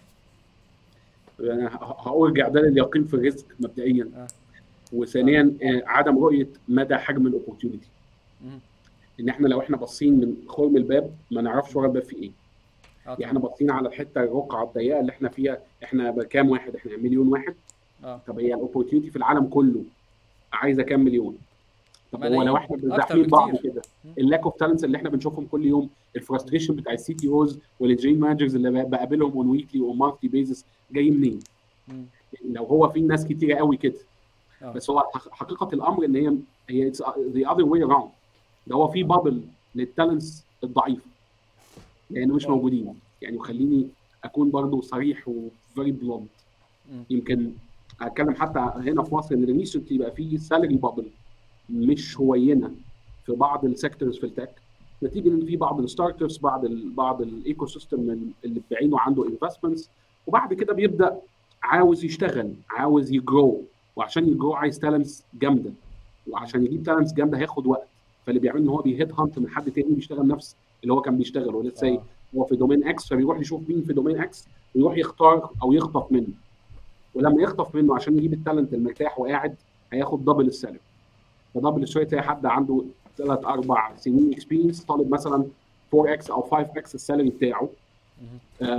يعني هقول جعدان اليقين في الرزق مبدئيا، اه. اه. وثانيا عدم رؤيه مدى حجم الاوبورتيونيتي. مم. ان احنا لو احنا باصين من خرم الباب ما نعرفش ورا الباب في ايه. اه يعني طبعا. احنا باصين على الحته الرقعه الضيقه اللي احنا فيها، احنا بكام واحد؟ احنا مليون واحد. اه. طب هي الاوبورتيونيتي في العالم كله عايزه كام مليون؟ طب هو لو ملايين احنا اكتر بنزاحمين بعض بكتير. كده، مم. اللاك اوف تالنتس اللي احنا بنشوفهم كل يوم، مم. الفرستريشن بتاع السي تي اوز والانجينير مانجرز اللي بقابلهم اون ويكلي واون مانثلي بيزس، جاي منين؟ مم. لو هو في ناس كتيره قوي كده. اه. بس هو حقيقه الامر ان هي ذا اذر واي اراوند. ده هو في اه. بابل للتالنتس الضعيفه لانه مش اه. موجودين. يعني وخليني اكون برضو صريح وفيري بلونت. مم. يمكن اتكلم حتى هنا في مصر ان ريسنتلي بقى في سالري بابل مش هوينه في بعض السيكتورز في التك، نتيجه ان في بعض الستارت ابس، بعض الايكو سيستم اللي بعينه عنده انفستمنتس، وبعد كده بيبدا عاوز يشتغل، عاوز يجرو، وعشان يجرو عايز تالنتس جامده، مم. وعشان يجيب تالنتس جامده هياخد وقت. فاللي بيعمل ان هو بيهيد هانت من حد تاني بيشتغل نفس اللي هو كان بيشتغله. ليتس سي اه. هو في دومين اكس، فبيروح يشوف مين في دومين اكس ويروح يختار او يخطف منه. ولما يخطف منه عشان يجيب التالنت المرتاح وقاعد هياخد دبل السالري. فدبل السالري تلاقي حد عنده 3 4 سنين اكسبيرينس طالب مثلا 4 اكس او 5 اكس السالري بتاعه. مم.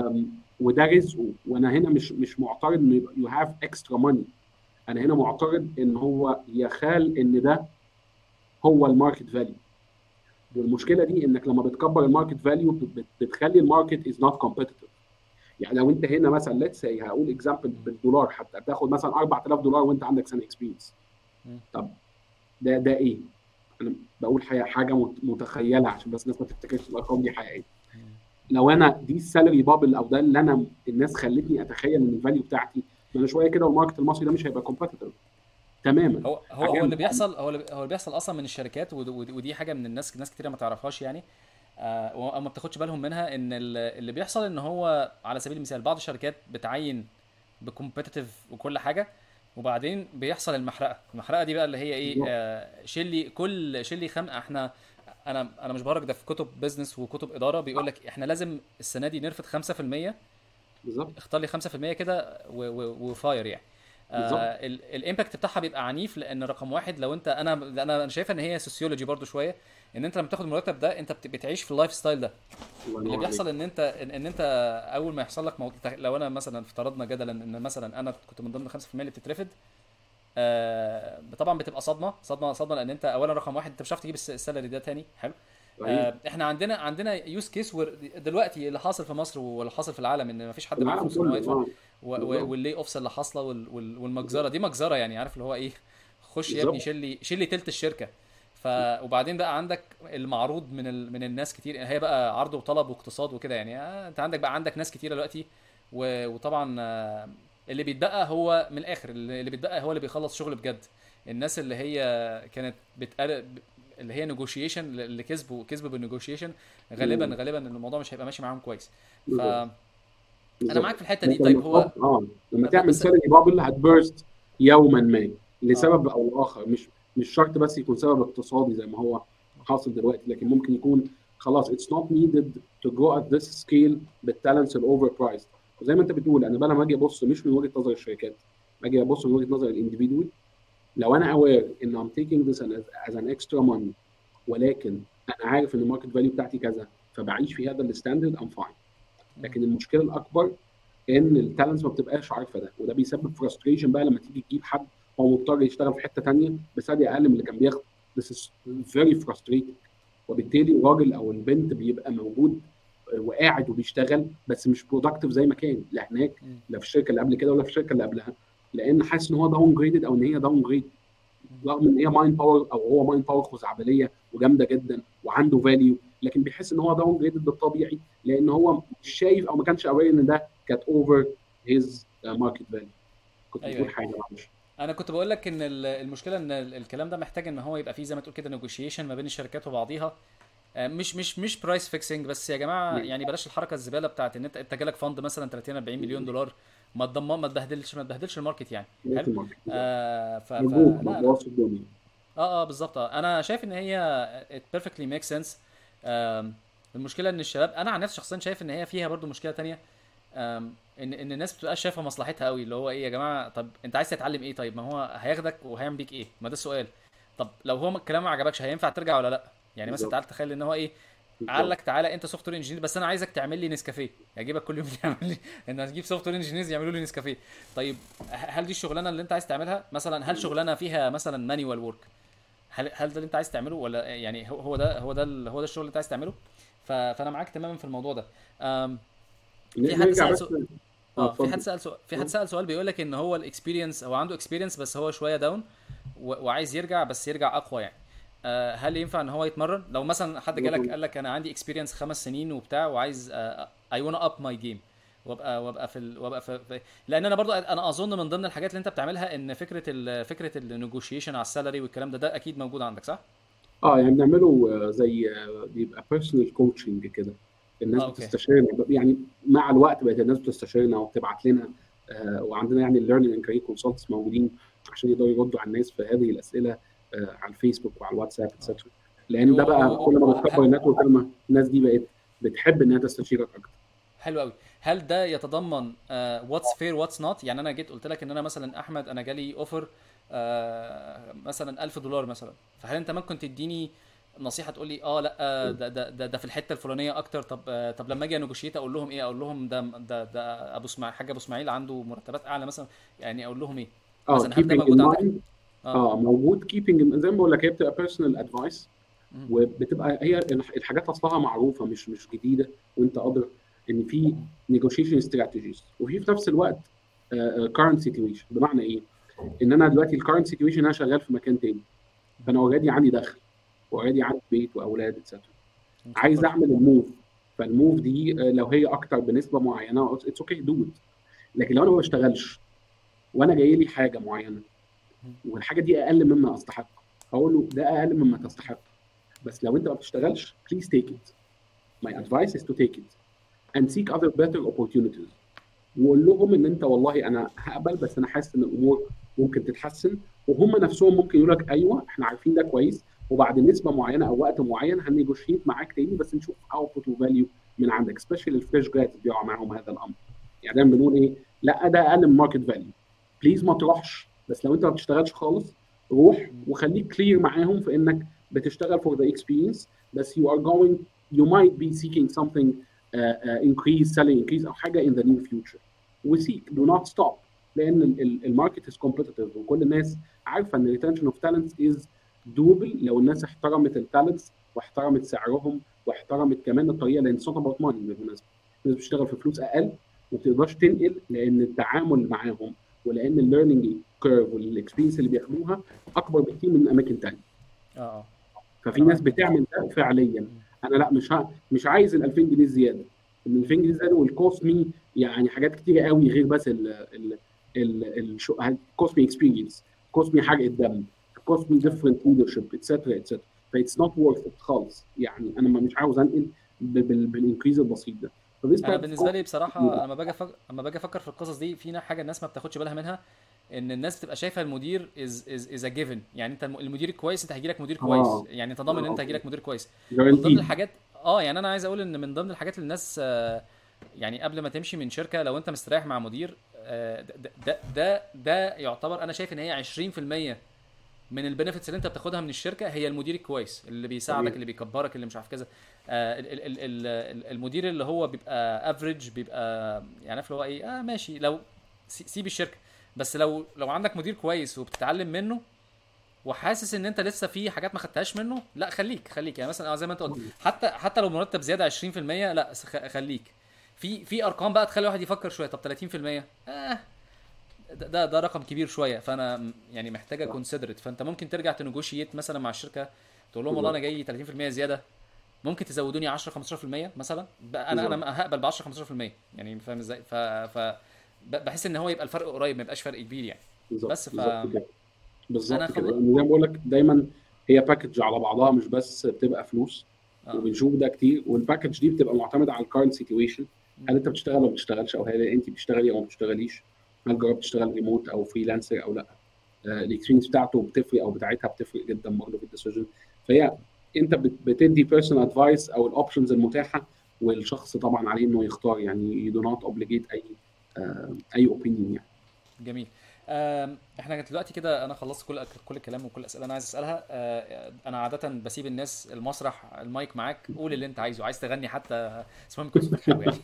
وده رزقه. وانا هنا مش معترض ان يو هاف اكسترا ماني. انا هنا معترض ان هو يخال ان ده هو الماركت فاليو. والمشكله دي انك لما بتكبر الماركت فاليو بتخلي الماركت از نوت كومبيتيتيف. يعني لو انت هنا مثلا ليتس سي هقول اكزامبل مم. بالدولار، حتى تاخد مثلا $4000 وانت عندك سنه اكسبيرينس. مم. طب ده ايه؟ انا بقول حاجه متخيله عشان بس الناس ما تفتكرش الارقام دي حقيقيه. مم. لو انا دي السالري بابل او ده اللي انا الناس خلتني اتخيل ان الفاليو بتاعتي، ما انا شويه كده والماركت المصري ده مش هيبقى كومبيتيتيف تماما. هو اللي بيحصل، هو اللي بيحصل اصلا من الشركات. ودي حاجه من ناس كتيره ما تعرفهاش يعني، او ما بتاخدش بالهم منها. ان اللي بيحصل ان هو على سبيل المثال بعض الشركات بتعين بكومبيتيتيف وكل حاجه، وبعدين بيحصل المحرقه دي بقى اللي هي ايه، بالظبط شيل لي خمقه. انا مش بهرج، ده في كتب بيزنس وكتب اداره بيقول لك احنا لازم السنه دي نرفض 5%. بالظبط اختار لي 5% كده وفاير يعني. بالظبط. الامباكت بتاعها بيبقى عنيف، لان رقم واحد لو انت، انا شايفه ان هي سوسيولوجي برضو شويه، ان انت لما تاخد المرتب ده انت بتعيش في اللايف ستايل ده. الله اللي ينور عليك. بيحصل ان انت اول ما يحصل لك لو انا مثلا افترضنا جدلا ان مثلا انا كنت من ضمن 5% اللي بتترفض، طبعا بتبقى صدمه، لان انت اولا رقم واحد انت مش هتعرف تجيب السالري ده تاني. حلو. صحيح. احنا عندنا يوز كيس دلوقتي اللي حاصل في مصر واللي حاصل في العالم، ان مفيش حد معاه العالم فلوس ان هو كله يدفع. بالظبط واللي اوفس اللي حاصله والمجزره دي مجزره يعني، عارف اللي هو ايه. خش يا ابني بالظبط. شيل لي تلت الشركه. وبعدين بقى عندك المعروض من الناس كتير، هي بقى عرض وطلب واقتصاد وكده يعني. انت عندك بقى عندك ناس كتير دلوقتي، وطبعا اللي بيتبقى هو من الاخر، اللي بيتبقى هو اللي بيخلص شغل بجد. الناس اللي هي كانت اللي هي نيجوشيشن، اللي كسبوا بالنيجوشيشن، مم. غالبا الموضوع مش هيبقى ماشي معاهم كويس. بالظبط. فانا معاك بالظبط. في الحته دي. انت طيب لما هو تحط لما تعمل بس سالري بابل هتبرست يوما ما اه لسبب او لاخر. مش شرط بس يكون سبب اقتصادي زي ما هو حاصل دلوقتي، لكن ممكن يكون خلاص it's not needed to grow at this scale بالتالنتس الاوفر برايس. وزي ما انت بتقول، انا بقى لما اجي ابص مش من وجهه نظر الشركات، باجي ابص من وجهه نظر الانديفيدوال. لو انا aware ان I'm taking this as an extra money، ولكن انا عارف ان الماركت فاليو بتاعتي كذا، فبعيش في هذا الستاندرد I'm fine. مم. لكن المشكله الاكبر ان التالنتس ما بتبقاش عارفه ده، وده بيسبب فرستريشن بقى لما تيجي تجيب حد هو مضطر يشتغل في حته ثانيه بسعر اقل من اللي كان بياخده. This is very frustrating. وبالتالي الراجل او البنت بيبقى موجود وقاعد وبيشتغل بس مش برودكتيف زي ما كان، لا هناك مم. لا في الشركه اللي قبل كده ولا في الشركه اللي قبلها، لان حاسس ان هو داون جريدد او ان هي داون جريد، رغم ان هي مايند باور او هو مايند باور خزعبليه وجامده جدا وعنده فاليو، لكن بيحس ان هو داون جريدد بالطبيعي لان هو مش شايف او ما كانش اوير ان ده كانت اوفر هيز ماركت فاليو. كنت ايوه بتقول ايوه. حاجه معلش. انا كنت بقول لك ان المشكله ان الكلام ده محتاج ان هو يبقى فيه زي ما تقول كده نيجوشيشن ما بين الشركات وبعضيها. مش برايس فيكسنج بس يا جماعه، يعني بلاش الحركه الزباله بتاعت ان انت جالك فند مثلا 30 40 مليون دولار، ما تبهدلش الماركت يعني. حلو. الماركت لا ارجوك ما لا. تبوظش الدنيا. بالظبط. انا شايف ان هي it perfectly makes sense. المشكله ان الشباب، انا عن نفسي شخصيا شايف ان هي فيها برضو مشكله تانية. ان الناس بتبقى شايفه مصلحتها قوي، اللي هو ايه يا جماعه، طب انت عايز تتعلم ايه؟ طيب ما هو هياخدك وهيعمل بيك ايه؟ ما ده السؤال. طب لو هو الكلام ما عجبكش هينفع ترجع ولا لا؟ يعني مثلا بالظبط. تعال تخيل ان هو ايه، قال بالظبط. لك تعالى انت سوفت وير انجينير بس انا عايزك تعمل لي نسكافيه، اجيبك كل يوم تعمل لي ان هتجيب سوفت وير انجينيرز يعملوا لي نسكافيه. طيب هل دي الشغلانه اللي انت عايز تعملها مثلا؟ هل شغلانه فيها مثلا مانيوال ورك؟ هل ده اللي انت عايز تعمله؟ ولا يعني هو ده الشغل اللي انت عايز تعمله؟ فانا معاك تماما في الموضوع ده. في حد نرجع سأل بس. سؤال. اتفضل. في حد سأل سؤال بيقول لك ان هو الاكسبيرينس، هو عنده اكسبيرينس بس هو شويه داون، وعايز يرجع بس يرجع اقوى يعني. هل ينفع ان هو يتمرن؟ لو مثلا حد جالك قال لك انا عندي اكسبيرينس 5 سنين وبتاع وعايز اي وانا اب ماي جيم، وابقى لان انا برضو انا اظن من ضمن الحاجات اللي انت بتعملها ان فكره النيجوشيشن على السالري والكلام ده اكيد موجود عندك صح؟ يعني بنعمله زي بيبقى بيرسونال كوتشنج كده. الناس اوكي. بتستشيرنا يعني، مع الوقت بقت الناس بتستشيرنا وبتبعت لنا، وعندنا يعني الليرنينج اند كارير كونسلتنتس موجودين عشان يقدروا يردوا على الناس في هذه الاسئله على الفيسبوك وعلى الواتساب اه اتسترا. لان ده بقى كل ما بتكبر النتورك كل ما الناس دي بقت بتحب انها تستشيرك اكتر. حلو قوي. هل ده يتضمن واتس فير واتس نوت؟ يعني انا جيت قلت لك ان انا مثلا احمد انا جالي اوفر مثلا $1000 مثلا، فهل انت ممكن تديني نصيحه تقول لي لا ده في الحته الفلانيه اكتر؟ طب لما اجي انوجيشيت اقول لهم ايه؟ اقول لهم ده ابو اسماعيل، حاج ابو اسماعيل عنده مرتبات اعلى مثلا، يعني اقول لهم ايه مثلا؟ هل ده keeping موجود in عندك؟ mind. اه. موجود keeping زي ما بقول لك، هي بتبقى personal advice، مم. وبتبقى هي الحاجات اصلها معروفه مش جديده، وانت قادر ان في negotiation strategies، وفي نفس الوقت current situation. بمعنى ايه؟ ان انا دلوقتي الكارنت سيتويشن انا شغال في مكان تاني، فانا اوريدي عندي دخل واوريدي عندي بيت واولاد اتسترا، عايز مستقر. اعمل الموف. فالموف دي لو هي اكتر بنسبه معينه اتس اوكي دو ات. لكن لو انا ما بشتغلش وانا جاي لي حاجه معينه والحاجه دي اقل مما استحق، هقول له ده اقل مما تستحق، بس لو انت ما بتشتغلش please take it. My advice is to take it and seek other better opportunities. وقول لهم ان انت والله انا هقبل بس انا حاسس ان الامور ممكن تتحسن، وهم نفسهم ممكن يقول لك ايوه احنا عارفين ده كويس، وبعد نسبه معينه او وقت معين هنيجوشيت معاك تاني بس نشوف اوتبوت وفاليو من عندك. سبيشال الفريش جرادز بيقع معاهم هذا الامر. يعني دايما بنقول ايه؟ لا ده اقل من ماركت فاليو، بليز ما تروحش. بس لو انت ما بتشتغلش خالص روح وخليك كلير معاهم في انك بتشتغل for the experience، بس you might be seeking something increase selling increase او حاجه in the near future. وسيك do not stop، لان الماركت is competitive وكل الناس عارفه ان retention of talents is doable لو الناس احترمت التالنتس واحترمت سعرهم واحترمت كمان الطريقه، لان it's not about money بالمناسبه. الناس بتشتغل في فلوس اقل وبتقدرش تنقل لان التعامل معاهم ولان الليرنينج كيرف والاكسبيرينس اللي بياخدوها اكبر بكتير من اماكن ثانيه. اه ففي انا ناس معاك جدا. بتعمل ده فعليا. مم. انا لا، مش عايز ال 2000 جنيه زياده. ال 2000 جنيه زياده والكوست مي يعني حاجات كتيره قوي غير بس ال كوست مي اكسبيرينس، كوست مي حرقه دم، كوست مي آه. ديفرنت ليدرشيب اتسترا اتسترا. فايتس نوت وورث ات خالص يعني. انا مش عاوز انقل بالانكريز البسيط ده. فديس انا تايب اوف بالنسبه كوست. لي بصراحه اما باجي افكر في القصص دي، في حاجه الناس ما بتاخدش بالها منها، ان الناس بتبقى شايفه المدير از ا جيفن. يعني انت المدير الكويس انت هيجي لك مدير كويس، اه يعني انت ضامن ان انت هيجي لك مدير كويس. من ضمن جارانتيد. الحاجات، يعني انا عايز اقول ان من ضمن الحاجات اللي الناس يعني قبل ما تمشي من شركه، لو انت مستريح مع مدير، ده يعتبر، انا شايف ان هي 20% من البنفيتس اللي انت بتاخدها من الشركه، هي المدير الكويس اللي بيساعدك، تمام. اللي بيكبرك، اللي مش عارف كذا. المدير اللي هو بيبقى افريج، بيبقى يعني عارف اللي هو ايه، ماشي، لو سيب الشركه. بس لو عندك مدير كويس وبتتعلم منه، وحاسس ان انت لسه في حاجات ما خدتهاش منه، لا خليك يعني مثلا، زي ما انت قلت، حتى لو مرتب زياده 20%، لا خليك. في ارقام بقى تخلي الواحد يفكر شويه. طب 30%، ده رقم كبير شويه، فانا يعني محتاجه صح. كونسيدرت. فانت ممكن ترجع تنجوشيت مثلا مع الشركه، تقول لهم والله انا بالظبط. جاي 30% زياده، ممكن تزودوني 10 15% مثلا. بالظبط. انا هقبل ب 10 15%، يعني فاهم ازاي؟ بحس ان هو يبقى الفرق قريب، ما يبقاش فرق كبير يعني. بالظبط. بس بالظبط كده. انا بالظبط كده يعني زي ما بقول لك دايما، هي باكج على بعضها مش بس بتبقى فلوس. اه. وبنشوف ده كتير، والباكج دي بتبقى معتمده على الكارنت سيتويشن. م- هل انت بتشتغل ولا ما بتشتغلش، او هل انت بتشتغلي او ما بتشتغليش، هل جربت تشتغل ريموت او فريلانسر او لا. الاكسبيرينس بتاعته بتفرق او بتاعتها بتفرق جدا برضه في الديسيجن. فهي انت بتدي بيرسونال ادفايس او الاوبشنز المتاحه، والشخص طبعا عليه انه يختار يعني. you do not obligate اي اوبينيون يعني. جميل. احنا دلوقتي كده انا خلصت كل الكلام وكل الاسئله انا عايز اسالها. انا عاده بسيب الناس المسرح، المايك معاك، قول اللي انت عايزه، عايز تغني حتى، بس المهم يكون صوتك حلو يعني.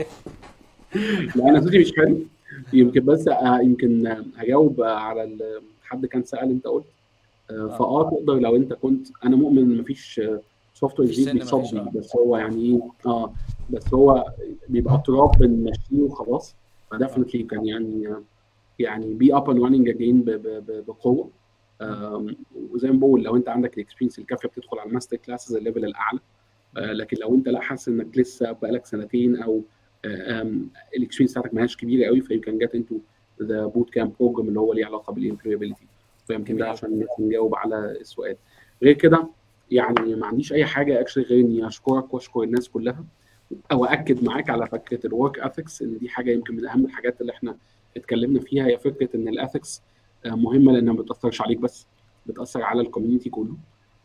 لا انا صوتي مش حلو. يمكن بس يمكن هجاوب على حد كان سأل. انت قلت اه. تقدر لو انت كنت. انا مؤمن ان مفيش سوفت وير مفيش جديد سن، مفيش بيصدي، بس هو يعني ايه. بس هو بيبقى تراب بنمشيه وخلاص. اه. فدفنتلي كان يعني بي اب اند راننج اجين بقوه. مم. وزي ما بقول، لو انت عندك الاكسبيرينس الكافيه بتدخل على الماستر كلاسز الليفل الاعلى. مم. لكن لو انت لا حاسس انك لسه بقالك سنتين، او الاكسبيرينس بتاعتك ما هياش كبيره قوي، فيو كان جت انتو ذا بوت كامب بروجرام اللي هو ليه علاقه بالامبلويبيلتي. فيمكن ده جميل قوي. عشان نجاوب على السؤال. غير كده يعني ما عنديش اي حاجه اكشلي غير اني اشكرك واشكر الناس كلها، او اكد معاك على فكره الورك اثكس، ان دي حاجه يمكن من اهم الحاجات اللي احنا اتكلمنا فيها. هي فكره ان الاثكس مهمه، لانها ما بتاثرش عليك بس، بتاثر على الكوميونتي كله.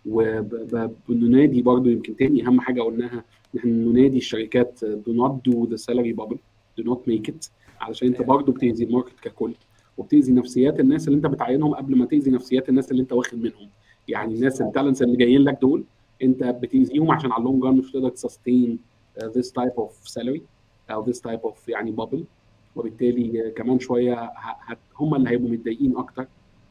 وبننادي برضو يمكن تاني اهم حاجه قلناها، ان احنا ننادي الشركات do not do the salary bubble, do not مم. make it. علشان انت دي حقيقة. برضو بتأذي الماركت ككل، وبتأذي نفسيات الناس اللي انت بتعينهم قبل ما تأذي نفسيات الناس اللي انت واخد منهم. اه يعني بالظبط. الناس التالنتس اللي جايين لك دول، انت بتأذيهم عشان على اللونج ران مش تقدر تسستين this type of salary او this type of يعني bubble. وبالتالي كمان شويه هم اللي هيبقوا متضايقين اكتر.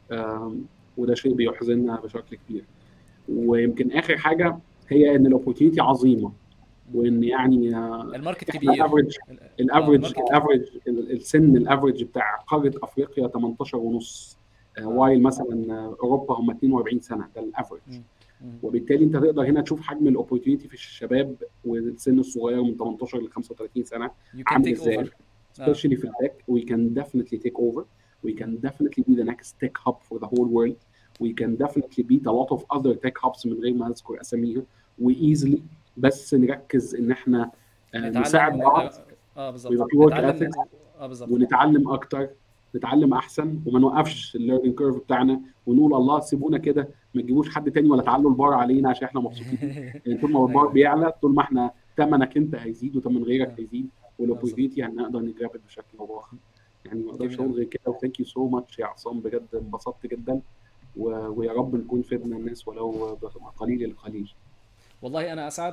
وده شيء بيحزننا بشكل كبير. ويمكن اخر حاجه هي ان الاوبورتيونيتي عظيمه، مم. وان يعني الماركت احنا كبير. افريج. الماركت كبير. السن الافريج بتاع قاره افريقيا 18 ونص، اه. وايل مثلا اوروبا هم 42 سنه، ده الافريج. مم. مم. وبالتالي انت تقدر هنا تشوف حجم الاوبورتيونيتي في الشباب والسن الصغير من 18 ل 35 سنه You can عامل take ازاي. over. اه. especially في التك we can definitely take over. We مم. can definitely be the next tech hub for the whole world. We مم. can definitely beat a lot of other tech hubs من غير ما اذكر اساميها. وايزلي بس نركز ان احنا نساعد نتعلم بعض، بالظبط، ويبقى في ورك نتعلم اثكس، بالظبط. ونتعلم اكتر، نتعلم احسن، وما مم. نوقفش الليرنينج كيرف بتاعنا ونقول الله سيبونا كده، ما تجيبوش حد تاني ولا تعلوا البار علينا عشان احنا مبسوطين. يعني طول ما البار ايوه. بيعلى، طول ما احنا ثمنك انت هيزيد وثمن غيرك اه. هيزيد، بالظبط. والاوبورتيونيتي هنقدر نجربت بشكل او باخر. يعني ما اقدرش جميل اقول قوي. غير كده. وثانك يو سو ماتش يا عصام، بجد انبسطت جدا. ويا رب نكون فدنا الناس ولو بقليل القليل. والله انا اسعد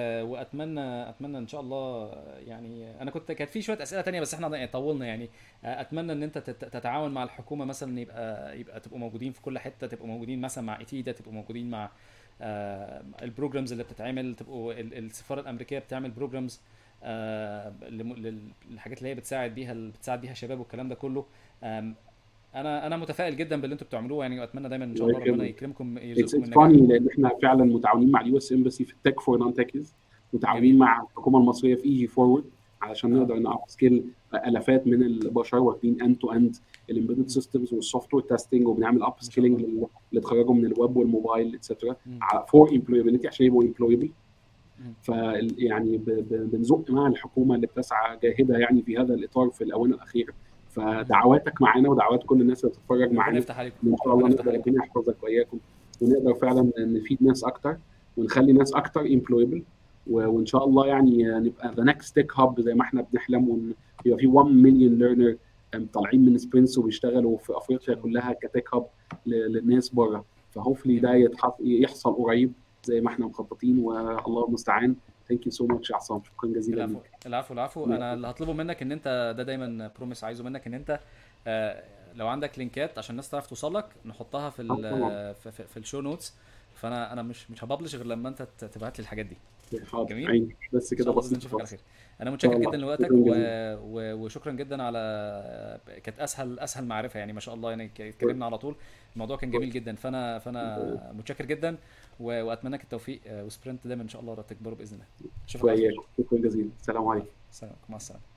واتمنى ان شاء الله. يعني انا كانت في شويه اسئله تانية، بس احنا يعني طولنا يعني. اتمنى ان انت تتعاون مع الحكومه مثلا، يبقى تبقوا موجودين في كل حته، تبقوا موجودين مثلا مع ايتيدا، تبقوا موجودين مع البروجرامز اللي بتتعمل، تبقوا السفاره الامريكيه بتعمل بروجرامز للحاجات اللي هي بتساعد بيها الشباب والكلام ده كله. انا متفائل جدا باللي انتوا بتعملوه يعني، واتمنى دايما ان شاء الله الله ربنا يكرمك. يكرمكم اتس يرزقكم اتس النجاح. فاني لان احنا فعلا متعاونين مع اليو اس امباسي في التك فور نون تكيز، متعاونين جميل. مع الحكومه المصريه في اي جي فورورد علشان اه. نقدر ناب سكيل الافات من البشر واخدين اند تو اند الامبيدد مم. سيستمز والسوفت وير تيستنج، وبنعمل اب ما شاء سكيلينج الله. اللي اتخرجوا من الويب والموبايل اتسترا مم. فور امبلويبيليتي عشان يبقوا امبلويبل. مم. ف يعني بنزق مع الحكومه اللي بتسعى جاهده يعني في هذا الاطار في الاونه الاخيره. مم. فدعواتك معانا ودعوات كل الناس اللي بتتفرج ربنا معانا يفتح عليكم. ان شاء الله ربنا يفتح نقدر عليكم. ربنا يحفظك واياكم، ونقدر فعلا نفيد ناس اكتر ونخلي ناس اكتر امبلويبل، وان شاء الله يعني نبقى ذا نكست تك هاب زي ما احنا بنحلم، ويبقى في 1 مليون ليرنر طالعين من سبرنس وبيشتغلوا في ان افريقيا شاء الله. كلها كتك هاب للناس بره. فهوفلي ده جميل. يحصل قريب زي ما احنا مخططين، والله المستعان. ثانك يو سو ماتش يا عصام، شكرا جزيلا العفو ليك. العفو العفو. انا اللي هطلبه منك ان انت ده دايما بروميس عايزه منك، ان انت لو عندك لينكات عشان الناس تعرف توصل لك نحطها في طبعا. في الشو نوتس. فانا مش هبلش غير لما انت تبعت لي الحاجات دي. حاضر جميل. عيني، بس ان كده شاء الله باذن بسيط نشوفك على خالص. خير. انا ان شاء متشكر جدا الله، لوقتك شكرا جزيلا. وشكرا جدا على كانت اسهل معرفه يعني، ما شاء الله يعني شكراً. اتكلمنا على طول. الموضوع كان جميل جدا، فانا متشكر جدا واتمنى لك التوفيق، وسبرنت دايما ان شاء الله تكبروا باذن الله. اشوفك على خير. وإياك، شكرا جزيلا، السلام عليكم. العفو. سلام، مع السلامه.